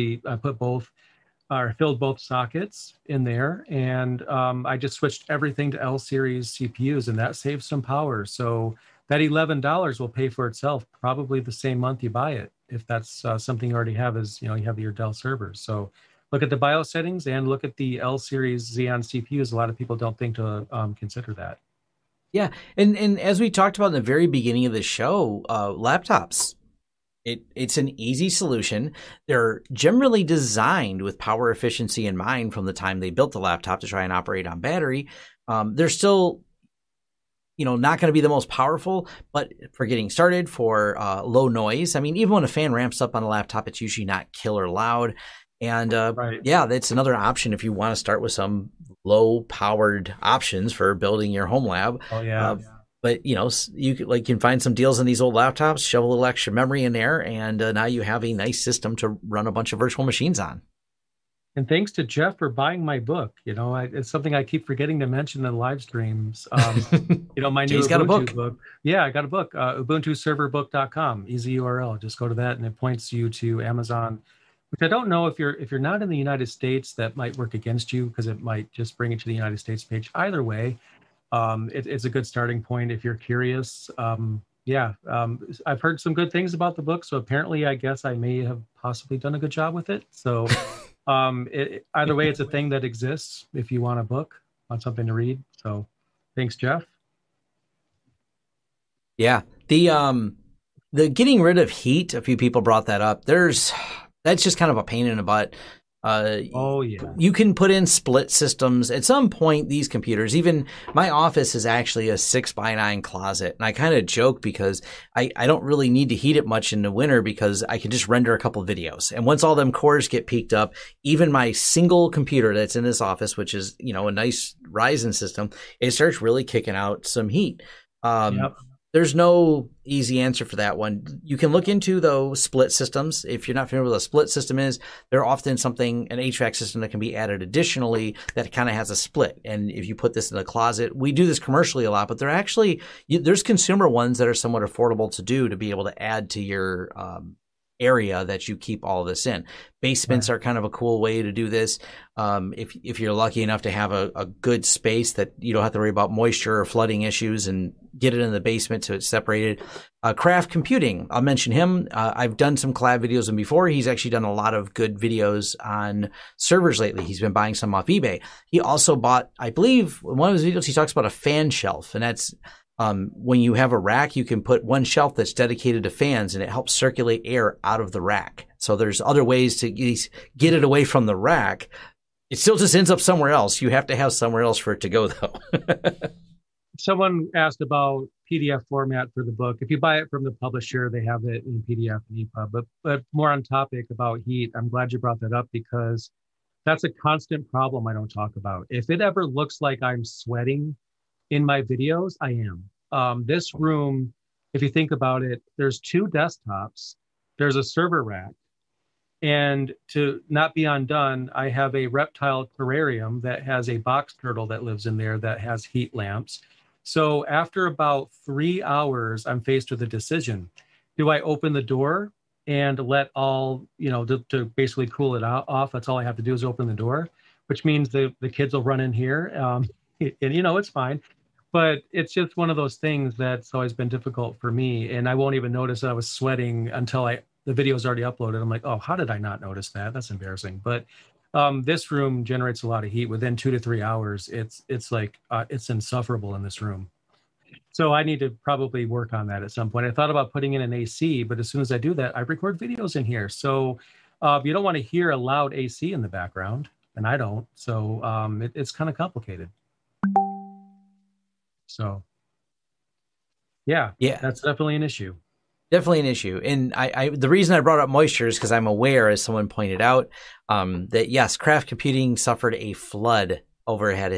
filled both sockets in there, and I just switched everything to L series CPUs, and that saves some power. So that $11 will pay for itself probably the same month you buy it, if that's something you already have, you have your Dell servers. So look at the BIOS settings and look at the L series Xeon CPUs. A lot of people don't think to consider that. Yeah, and as we talked about in the very beginning of the show, laptops, it's an easy solution. They're generally designed with power efficiency in mind from the time they built the laptop to try and operate on battery. They're still, not going to be the most powerful, but for getting started, for low noise. I mean, even when a fan ramps up on a laptop, it's usually not killer loud. And right. Yeah, that's another option if you want to start with some low-powered options for building your home lab. Oh yeah. But you can find some deals on these old laptops, shove a little extra memory in there, and now you have a nice system to run a bunch of virtual machines on. And thanks to Jeff for buying my book. It's something I keep forgetting to mention in the live streams. My new Jay's got Ubuntu a book. Yeah, I got a book. UbuntuServerBook.com. Easy URL. Just go to that, and it points you to Amazon. Which I don't know, if you're not in the United States, that might work against you, because it might just bring it to the United States page. Either way, it's a good starting point if you're curious. I've heard some good things about the book, so apparently I guess I may have possibly done a good job with it. So either way, it's a thing that exists if you want a book, want something to read. So thanks, Jeff. Yeah, the getting rid of heat, a few people brought that up. That's just kind of a pain in the butt. Oh, yeah. You can put in split systems. At some point, these computers, even my office is actually a 6x9 closet. And I kind of joke because I don't really need to heat it much in the winter, because I can just render a couple of videos. And once all them cores get peaked up, even my single computer that's in this office, which is, a nice Ryzen system, it starts really kicking out some heat. Yep. There's no easy answer for that one. You can look into those split systems. If you're not familiar with what a split system is, they're often an HVAC system that can be added additionally that kind of has a split. And if you put this in a closet, we do this commercially a lot, but there's consumer ones that are somewhat affordable to do, to be able to add to your area that you keep all of this in. Basements are kind of a cool way to do this. If you're lucky enough to have a good space that you don't have to worry about moisture or flooding issues, and get it in the basement so it's separated. Craft Computing, I'll mention him. I've done some collab videos with him before. He's actually done a lot of good videos on servers lately. He's been buying some off eBay. He also bought, I believe, in one of his videos, he talks about a fan shelf, and that's when you have a rack, you can put one shelf that's dedicated to fans, and it helps circulate air out of the rack. So there's other ways to get it away from the rack, It still just ends up somewhere else. You have to have somewhere else for it to go, though. Someone asked about PDF format for the book. If you buy it from the publisher, they have it in PDF and EPUB. But more on topic about heat, I'm glad you brought that up because that's a constant problem I don't talk about. If it ever looks like I'm sweating in my videos, I am. This room, if you think about it, there's 2 desktops, there's a server rack, and to not be undone, I have a reptile terrarium that has a box turtle that lives in there that has heat lamps. So after about 3 hours, I'm faced with a decision. Do I open the door and let all, to basically cool it off? That's all I have to do is open the door, which means the kids will run in here. And, it's fine. But it's just one of those things that's always been difficult for me. And I won't even notice that I was sweating until the video's already uploaded. I'm like, oh, how did I not notice that? That's embarrassing. But this room generates a lot of heat. Within 2 to 3 hours, it's like it's insufferable in this room. So I need to probably work on that at some point. I thought about putting in an AC, but as soon as I do that, I record videos in here. So you don't want to hear a loud AC in the background, and I don't. So it's kind of complicated. So yeah, that's definitely an issue. Definitely an issue. And the reason I brought up moisture is because I'm aware, as someone pointed out, that yes, Craft Computing suffered a flood overhead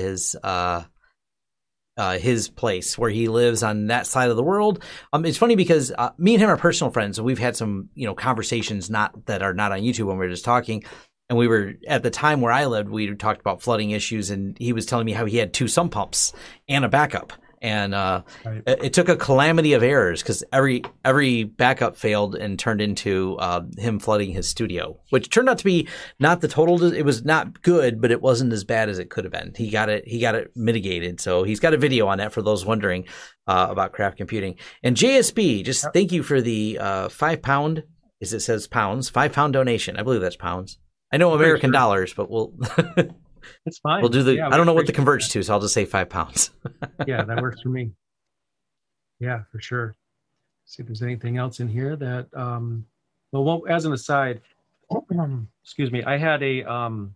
his place where he lives on that side of the world. It's funny because me and him are personal friends, and we've had some conversations that are not on YouTube when we were just talking. And we were at the time where I lived, we talked about flooding issues, and he was telling me how he had 2 sump pumps and a backup. And right. It took a calamity of errors because every backup failed and turned into him flooding his studio, which turned out to be not the total. It was not good, but it wasn't as bad as it could have been. He got it mitigated. So he's got a video on that for those wondering about Craft Computing. And JSB, just thank you for the £5, as it says pounds, £5 donation. I believe that's pounds. I know American dollars, but we'll. It's fine. We'll do I don't know what the converts to, so I'll just say £5. Yeah, that works for me. Yeah, for sure. See if there's anything else in here that, well, as an aside, excuse me, I had a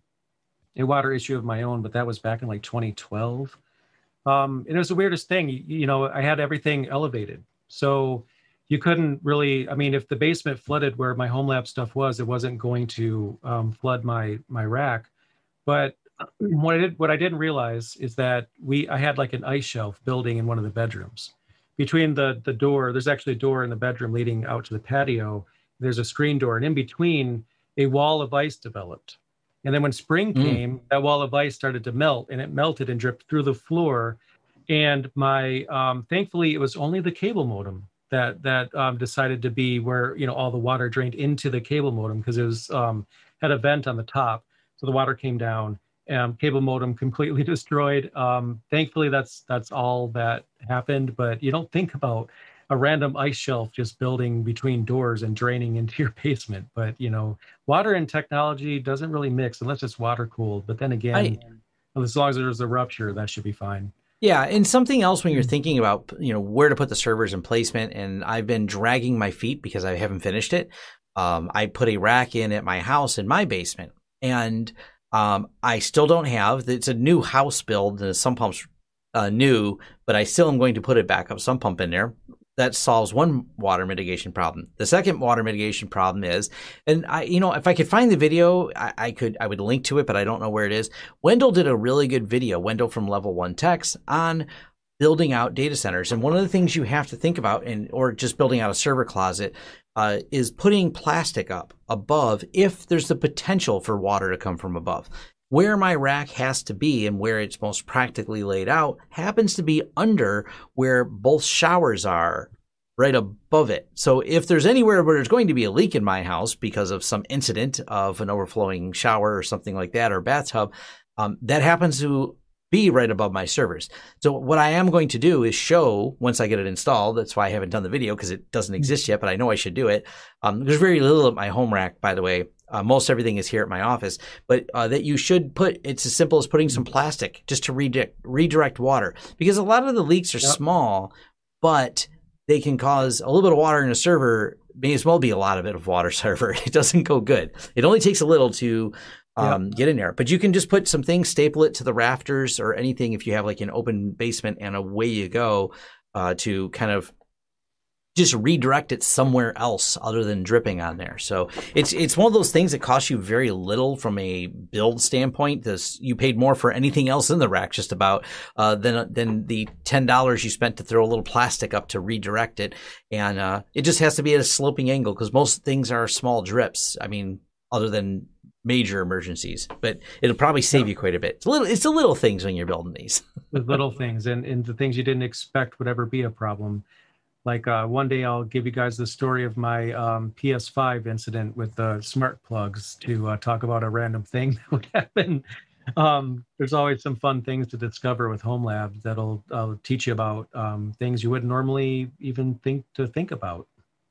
water issue of my own, but that was back in like 2012. And it was the weirdest thing. I had everything elevated. So you couldn't really, if the basement flooded where my home lab stuff was, it wasn't going to flood my rack. But what I didn't realize is that I had like an ice shelf building in one of the bedrooms. Between the door, there's actually a door in the bedroom leading out to the patio. There's a screen door, and in between, a wall of ice developed. And then when spring came, that wall of ice started to melt, and it melted and dripped through the floor. And thankfully, it was only the cable modem that decided to be where all the water drained into the cable modem, because it was had a vent on the top, so the water came down. Cable modem completely destroyed. Thankfully, that's all that happened. But you don't think about a random ice shelf just building between doors and draining into your basement. But water and technology doesn't really mix unless it's water cooled. But then again, as long as there's a rupture, that should be fine. Yeah, and something else when you're thinking about where to put the servers and placement, and I've been dragging my feet because I haven't finished it. I put a rack in at my house in my basement, and I still don't have. It's a new house build, and the sump pump's new, but I still am going to put a backup sump pump in there. That solves one water mitigation problem. The second water mitigation problem is, and if I could find the video, I would link to it, but I don't know where it is. Wendell did a really good video, Wendell from Level 1 Techs, on building out data centers. And one of the things you have to think about, or just building out a server closet, is putting plastic up above if there's the potential for water to come from above. Where my rack has to be and where it's most practically laid out happens to be under where both showers are, right above it. So if there's anywhere where there's going to be a leak in my house because of some incident of an overflowing shower or something like that, or bathtub, that happens to be right above my servers. So what I am going to do is show, once I get it installed, that's why I haven't done the video because it doesn't exist yet, but I know I should do it. There's very little at my home rack, by the way. Most everything is here at my office, but that you should it's as simple as putting some plastic just to redirect water, because a lot of the leaks are small, but they can cause a little bit of water in a server. May as well be a lot of it of water server. It doesn't go good. It only takes a little to get in there. But you can just put some things, staple it to the rafters or anything if you have like an open basement, and away you go to kind of just redirect it somewhere else other than dripping on there. So it's one of those things that costs you very little from a build standpoint. You paid more for anything else in the rack just about than the $10 you spent to throw a little plastic up to redirect it. And it just has to be at a sloping angle because most things are small drips. I mean, other than major emergencies, but it'll probably save you quite a bit. It's the little things when you're building these. The little things and the things you didn't expect would ever be a problem. Like one day I'll give you guys the story of my PS5 incident with the smart plugs to talk about a random thing that would happen. There's always some fun things to discover with Home Labs that'll teach you about things you wouldn't normally even think about.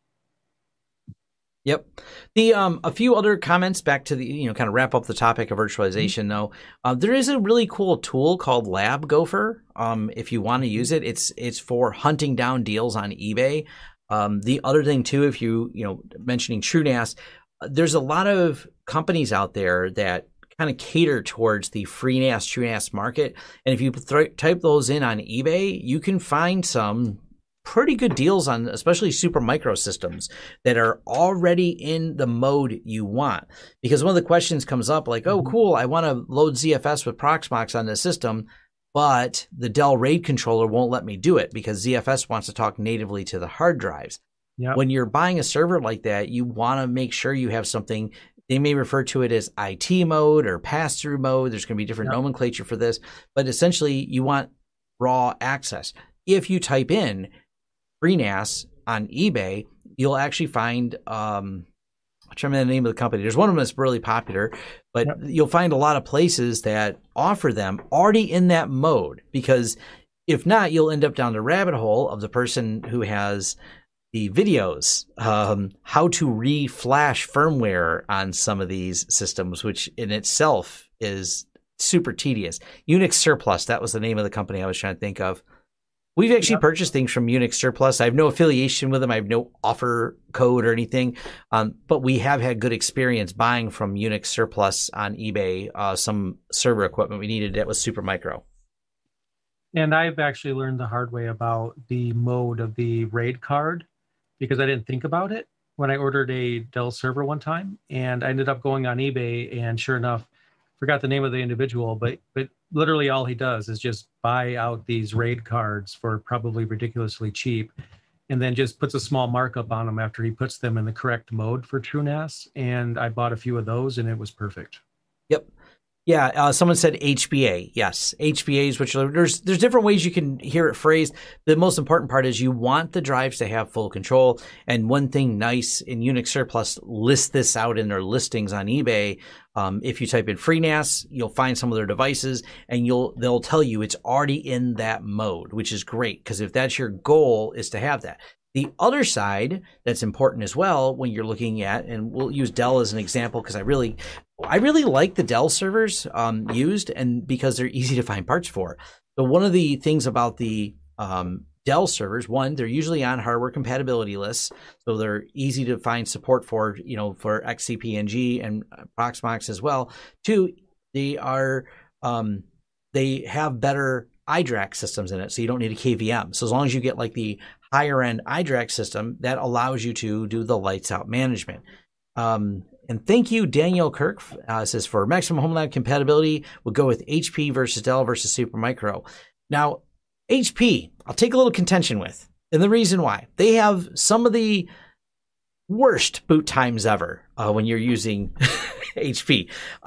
Yep. A few other comments back to the, kind of wrap up the topic of virtualization though. There is a really cool tool called Lab Gopher. If you want to use it, it's for hunting down deals on eBay. The other thing too, if mentioning TrueNAS, there's a lot of companies out there that kind of cater towards the FreeNAS, TrueNAS market. And if you type those in on eBay, you can find some pretty good deals on especially Supermicro systems that are already in the mode you want. Because one of the questions comes up like, oh, cool, I want to load ZFS with Proxmox on the system, but the Dell RAID controller won't let me do it because ZFS wants to talk natively to the hard drives. Yep. When you're buying a server like that, you want to make sure you have something. They may refer to it as IT mode or pass-through mode. There's going to be different nomenclature for this, but essentially you want raw access. If you type in FreeNAS on eBay, you'll actually find, I'm trying to remember the name of the company. There's one of them that's really popular, but you'll find a lot of places that offer them already in that mode, because if not, you'll end up down the rabbit hole of the person who has the videos, how to re-flash firmware on some of these systems, which in itself is super tedious. Unix Surplus, that was the name of the company I was trying to think of. We've actually purchased things from Unix Surplus. I have no affiliation with them. I have no offer code or anything. But we have had good experience buying from Unix Surplus on eBay, some server equipment we needed that was Supermicro. And I've actually learned the hard way about the mode of the RAID card because I didn't think about it when I ordered a Dell server one time. And I ended up going on eBay and sure enough, forgot the name of the individual, but literally all he does is just buy out these RAID cards for probably ridiculously cheap and then just puts a small markup on them after he puts them in the correct mode for TrueNAS. And I bought a few of those and it was perfect. Yep. Yeah, someone said HBA. Yes, HBAs, which there's different ways you can hear it phrased. The most important part is you want the drives to have full control. And one thing nice in Unix Surplus lists this out in their listings on eBay. If you type in FreeNAS, you'll find some of their devices, and they'll tell you it's already in that mode, which is great because if that's your goal, is to have that. The other side that's important as well when you're looking at, and we'll use Dell as an example because I really like the Dell servers used, and because they're easy to find parts for. So one of the things about the Dell servers, one, they're usually on hardware compatibility lists, so they're easy to find support for, for XCP-NG and Proxmox as well. Two, they are they have better iDRAC systems in it, so you don't need a KVM. So as long as you get like the higher end iDRAC system, that allows you to do the lights out management. And thank you, Daniel Kirk says for maximum home lab compatibility, we'll go with HP versus Dell versus Supermicro. Now, HP, I'll take a little contention with, and the reason why they have some of the worst boot times ever when you're using HP.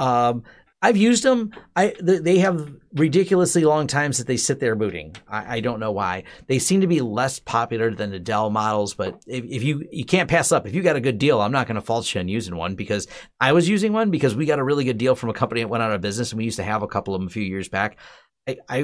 I've used them. They have ridiculously long times that they sit there booting. I don't know why. They seem to be less popular than the Dell models, but if you can't pass up. If you got a good deal, I'm not going to fault you on using one because I was using one because we got a really good deal from a company that went out of business, and we used to have a couple of them a few years back. I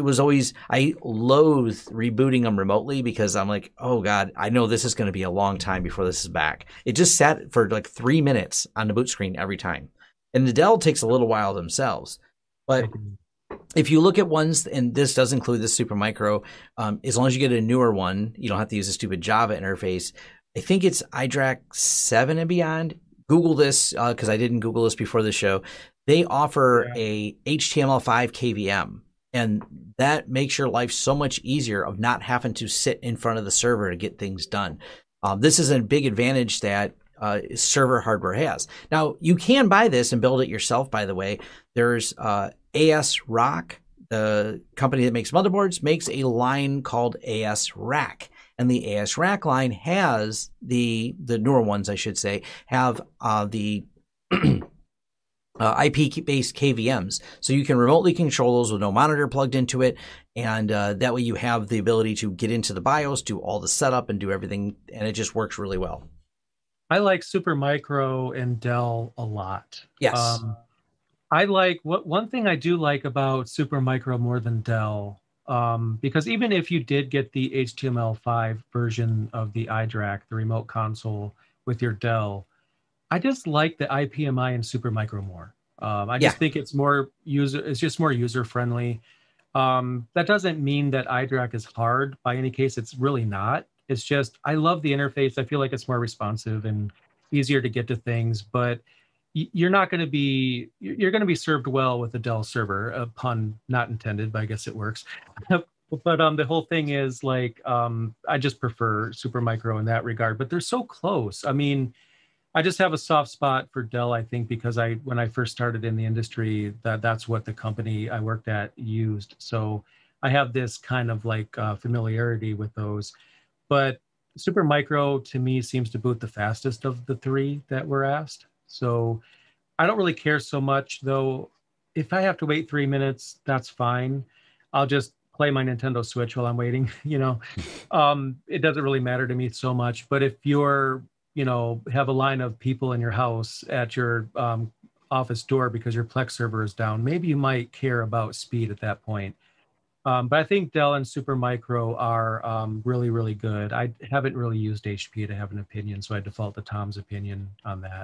loathe rebooting them remotely because I'm like, oh God, I know this is going to be a long time before this is back. It just sat for like 3 minutes on the boot screen every time. And the Dell takes a little while themselves. But if you look at ones, and this does include the Supermicro, as long as you get a newer one, you don't have to use a stupid Java interface. I think it's iDRAC 7 and beyond. Google this because I didn't Google this before the show. they offer a HTML5 KVM, and that makes your life so much easier of not having to sit in front of the server to get things done. This is a big advantage that server hardware has. Now, you can buy this and build it yourself, by the way. There's ASRock, the company that makes motherboards, makes a line called ASRack. And the ASRack line has the newer ones, I should say, have the IP-based KVMs. So you can remotely control those with no monitor plugged into it. And that way you have the ability to get into the BIOS, do all the setup, and do everything. And it just works really well. I like Supermicro and Dell a lot. Yes. I like one thing I do like about Supermicro more than Dell, because even if you did get the HTML5 version of the iDRAC, the remote console with your Dell, I just like the IPMI and Supermicro more. I just think it's just more user friendly. That doesn't mean that iDRAC is hard by any case. It's really not. It's just, I love the interface. I feel like it's more responsive and easier to get to things, but you're going to be served well with a Dell server, a pun not intended, but I guess it works. But the whole thing is like, I just prefer Supermicro in that regard, but they're so close. I mean, I just have a soft spot for Dell, I think, because when I first started in the industry, that's what the company I worked at used. So I have this kind of like familiarity with those. But Supermicro, to me, seems to boot the fastest of the three that were asked. So I don't really care so much, though. If I have to wait 3 minutes, that's fine. I'll just play my Nintendo Switch while I'm waiting. It doesn't really matter to me so much. But if you're, have a line of people in your house at your office door because your Plex server is down, maybe you might care about speed at that point. But I think Dell and Supermicro are really, really good. I haven't really used HP to have an opinion, so I default to Tom's opinion on that.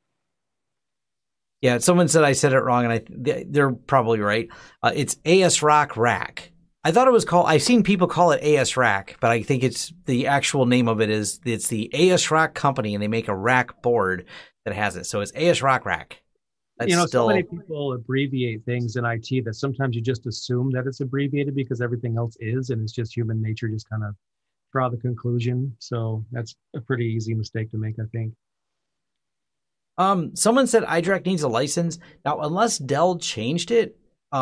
Yeah, someone said I said it wrong, and they're probably right. It's ASRock Rack. I thought it was called, I've seen people call it ASRack, but I think it's the actual name of it's the ASRock company, and they make a rack board that has it. So it's ASRock Rack. So many people abbreviate things in IT that sometimes you just assume that it's abbreviated because everything else is, and it's just human nature, just kind of draw the conclusion. So that's a pretty easy mistake to make, I think. Someone said iDRAC needs a license. Now, unless Dell changed it,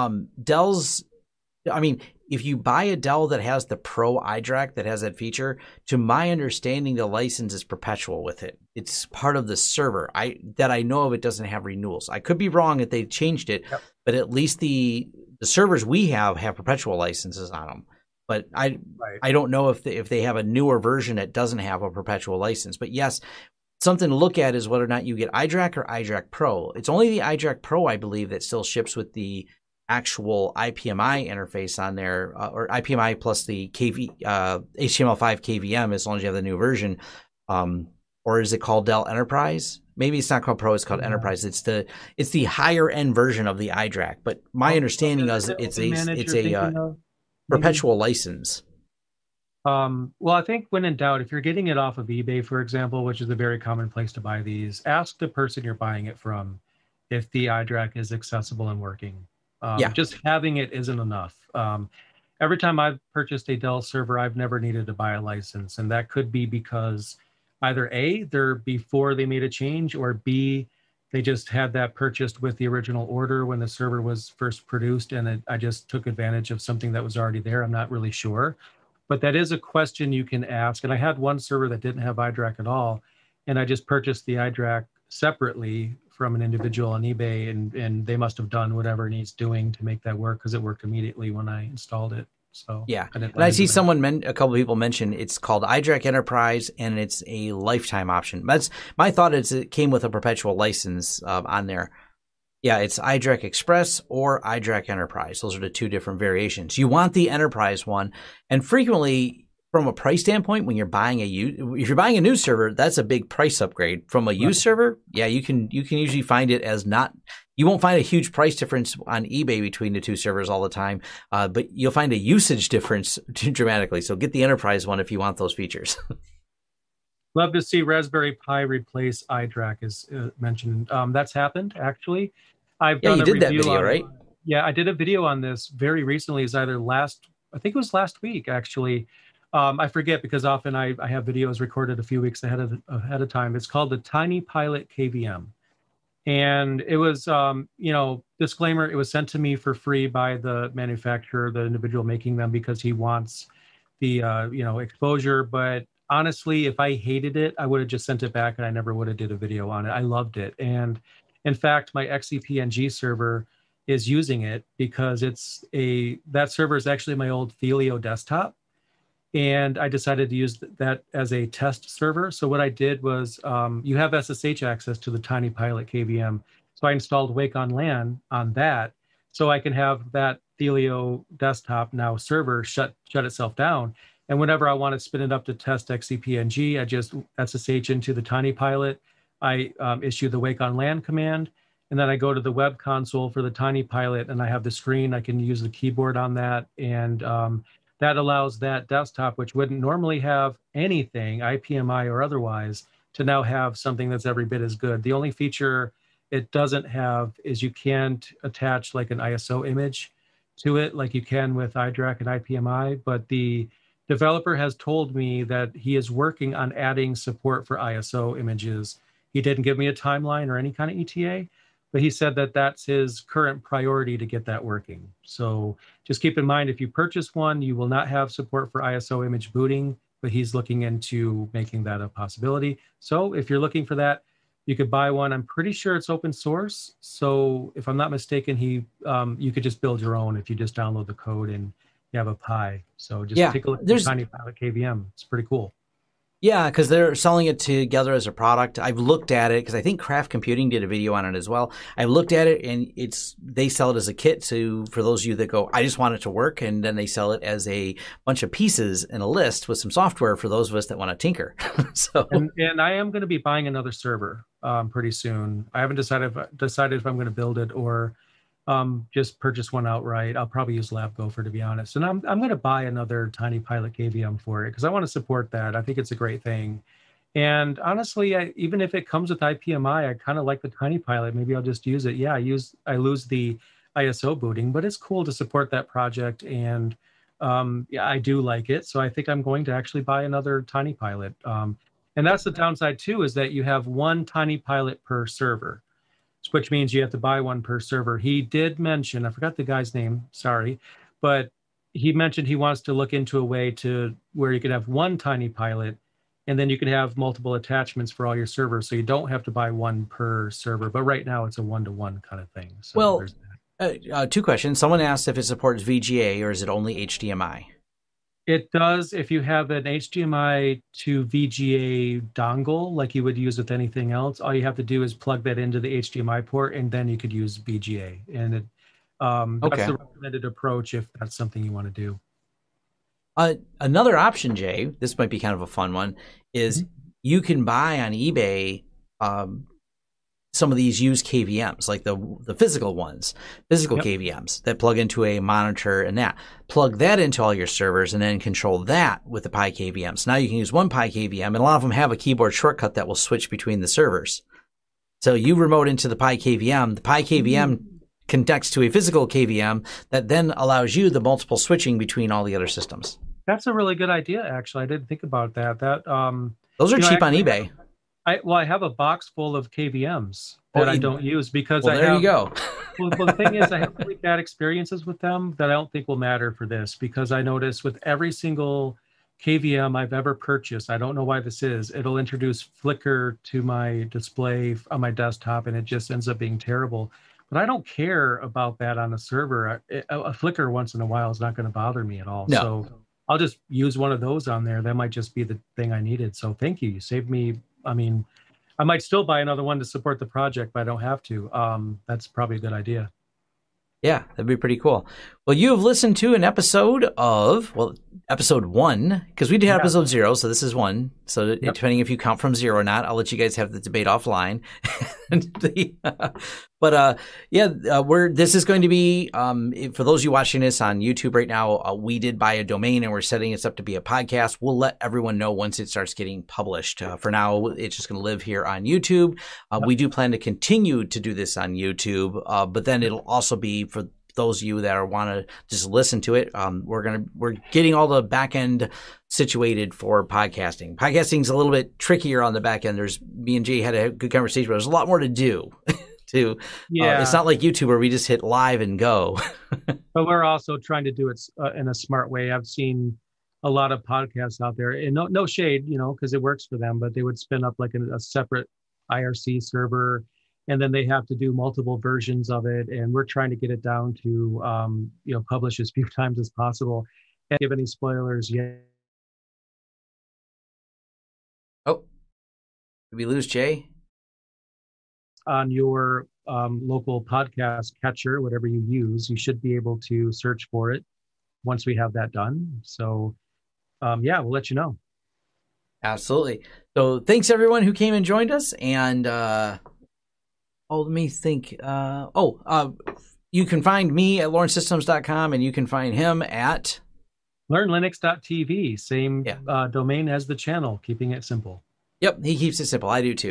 if you buy a Dell that has the Pro iDRAC that has that feature, to my understanding, the license is perpetual with it. It's part of the server. That I know of, it doesn't have renewals. I could be wrong if they changed it, but at least the servers we have perpetual licenses on them. But I don't know if they have a newer version that doesn't have a perpetual license. But yes, something to look at is whether or not you get iDRAC or iDRAC Pro. It's only the iDRAC Pro, I believe, that still ships with the actual IPMI interface on there, or IPMI plus the HTML5 KVM, as long as you have the new version. Or is it called Dell Enterprise? Maybe it's not called Pro, it's called Enterprise. It's the higher end version of the iDRAC. But my understanding is it's a perpetual license. Well, I think when in doubt, if you're getting it off of eBay, for example, which is a very common place to buy these, ask the person you're buying it from if the iDRAC is accessible and working. Just having it isn't enough. Every time I've purchased a Dell server, I've never needed to buy a license. And that could be because either A, they're before they made a change, or B, they just had that purchased with the original order when the server was first produced. And I just took advantage of something that was already there. I'm not really sure. But that is a question you can ask. And I had one server that didn't have iDRAC at all. And I just purchased the iDRAC separately from an individual on eBay, and they must have done whatever it needs doing to make that work, because it worked immediately when I installed it. So yeah, and I see a couple of people mention it's called iDRAC Enterprise, and it's a lifetime option. That's my thought. Is it came with a perpetual license on there. Yeah, it's iDRAC Express or iDRAC Enterprise. Those are the two different variations. You want the Enterprise one, and frequently, from a price standpoint, when you're buying if you're buying a new server, that's a big price upgrade. From a used server, yeah, you can usually find it as not. You won't find a huge price difference on eBay between the two servers all the time, but you'll find a usage difference dramatically. So get the Enterprise one if you want those features. Love to see Raspberry Pi replace iDRAC, is mentioned. That's happened, actually. I've Yeah, done you a did that review video, on right? Yeah, I did a video on this very recently. Is either I think it was last week actually. I forget because often I have videos recorded a few weeks ahead of time. It's called the Tiny Pilot KVM, and it was disclaimer, it was sent to me for free by the manufacturer, the individual making them, because he wants the exposure. But honestly, if I hated it, I would have just sent it back and I never would have did a video on it. I loved it. And in fact, my XCP-NG server is using it because that server is actually my old Thelio desktop, and I decided to use that as a test server. So what I did was, you have SSH access to the Tiny Pilot KVM. So I installed Wake on LAN on that, so I can have that Thelio desktop now server shut itself down. And whenever I want to spin it up to test XCP-NG, I just SSH into the Tiny Pilot. I issue the Wake on LAN command, and then I go to the web console for the Tiny Pilot, and I have the screen. I can use the keyboard on that, and that allows that desktop, which wouldn't normally have anything, IPMI or otherwise, to now have something that's every bit as good. The only feature it doesn't have is you can't attach like an ISO image to it like you can with iDRAC and IPMI, but the developer has told me that he is working on adding support for ISO images. He didn't give me a timeline or any kind of ETA, but he said that that's his current priority to get that working. So just keep in mind, if you purchase one, you will not have support for ISO image booting, but he's looking into making that a possibility. So if you're looking for that, you could buy one. I'm pretty sure it's open source. So if I'm not mistaken, you could just build your own if you just download the code and you have a Pi. So just take a look at the Tiny Pilot KVM. It's pretty cool. Yeah, because they're selling it together as a product. I've looked at it because I think Craft Computing did a video on it as well. I've looked at it, and they sell it as a kit for those of you that go, I just want it to work, and then they sell it as a bunch of pieces in a list with some software for those of us that want to tinker. And I am going to be buying another server pretty soon. I haven't decided if I'm going to build it or just purchase one outright. I'll probably use LabGopher, to be honest. And I'm going to buy another Tiny Pilot KVM for it because I want to support that. I think it's a great thing. And honestly, even if it comes with IPMI, I kind of like the Tiny Pilot. Maybe I'll just use it. Yeah, I lose the ISO booting, but it's cool to support that project. And yeah, I do like it. So I think I'm going to actually buy another Tiny Pilot. And that's the downside too, is that you have one Tiny Pilot per server, which means you have to buy one per server. He did mention, I forgot the guy's name, sorry, but he mentioned he wants to look into a way to where you could have one Tiny Pilot, and then you can have multiple attachments for all your servers, so you don't have to buy one per server. But right now, it's a one-to-one kind of thing. So well, two questions. Someone asked if it supports VGA or is it only HDMI? It does if you have an HDMI to VGA dongle, like you would use with anything else. All you have to do is plug that into the HDMI port, and then you could use VGA. And that's the recommended approach if that's something you want to do. Another option, Jay, this might be kind of a fun one, is you can buy on eBay some of these used KVMs, like the physical ones, KVMs that plug into a monitor and plug that into all your servers and then control that with the Pi KVM. So now you can use one Pi KVM, and a lot of them have a keyboard shortcut that will switch between the servers. So you remote into the Pi KVM connects to a physical KVM that then allows you the multiple switching between all the other systems. That's a really good idea, actually. I didn't think about that. Those are cheap on eBay. I have a box full of KVMs that I don't use because you go. Well, the thing is, I have really bad experiences with them that I don't think will matter for this, because I notice with every single KVM I've ever purchased, I don't know why this is, it'll introduce flicker to my display on my desktop, and it just ends up being terrible. But I don't care about that on a server. A flicker once in a while is not going to bother me at all. No. So I'll just use one of those on there. That might just be the thing I needed. So thank you. You saved me. I mean, I might still buy another one to support the project, but I don't have to. That's probably a good idea. Yeah, that'd be pretty cool. Well, you have listened to an episode of, episode 1, because we did have episode 0, so this is 1. So depending if you count from 0 or not, I'll let you guys have the debate offline. But this is going to be, for those of you watching this on YouTube right now, we did buy a domain and we're setting this up to be a podcast. We'll let everyone know once it starts getting published. For now, it's just going to live here on YouTube. We do plan to continue to do this on YouTube, but then it'll also be for those of you that want to just listen to it. We're getting all the back end situated for podcasting. Podcasting is a little bit trickier on the back end. Me and Jay had a good conversation, but there's a lot more to do. It's not like YouTube where we just hit live and go. But we're also trying to do it in a smart way. I've seen a lot of podcasts out there, and no shade, because it works for them, but they would spin up like a separate IRC server, and then they have to do multiple versions of it. And we're trying to get it down to, publish as few times as possible. Can't give any spoilers yet. Oh, did we lose Jay? On your local podcast catcher, whatever you use, you should be able to search for it once we have that done. So, we'll let you know. Absolutely. So thanks everyone who came and joined us. And let me think. You can find me at lawrencesystems.com, and you can find him at learnlinux.tv. Same domain as the channel, keeping it simple. Yep, he keeps it simple. I do too.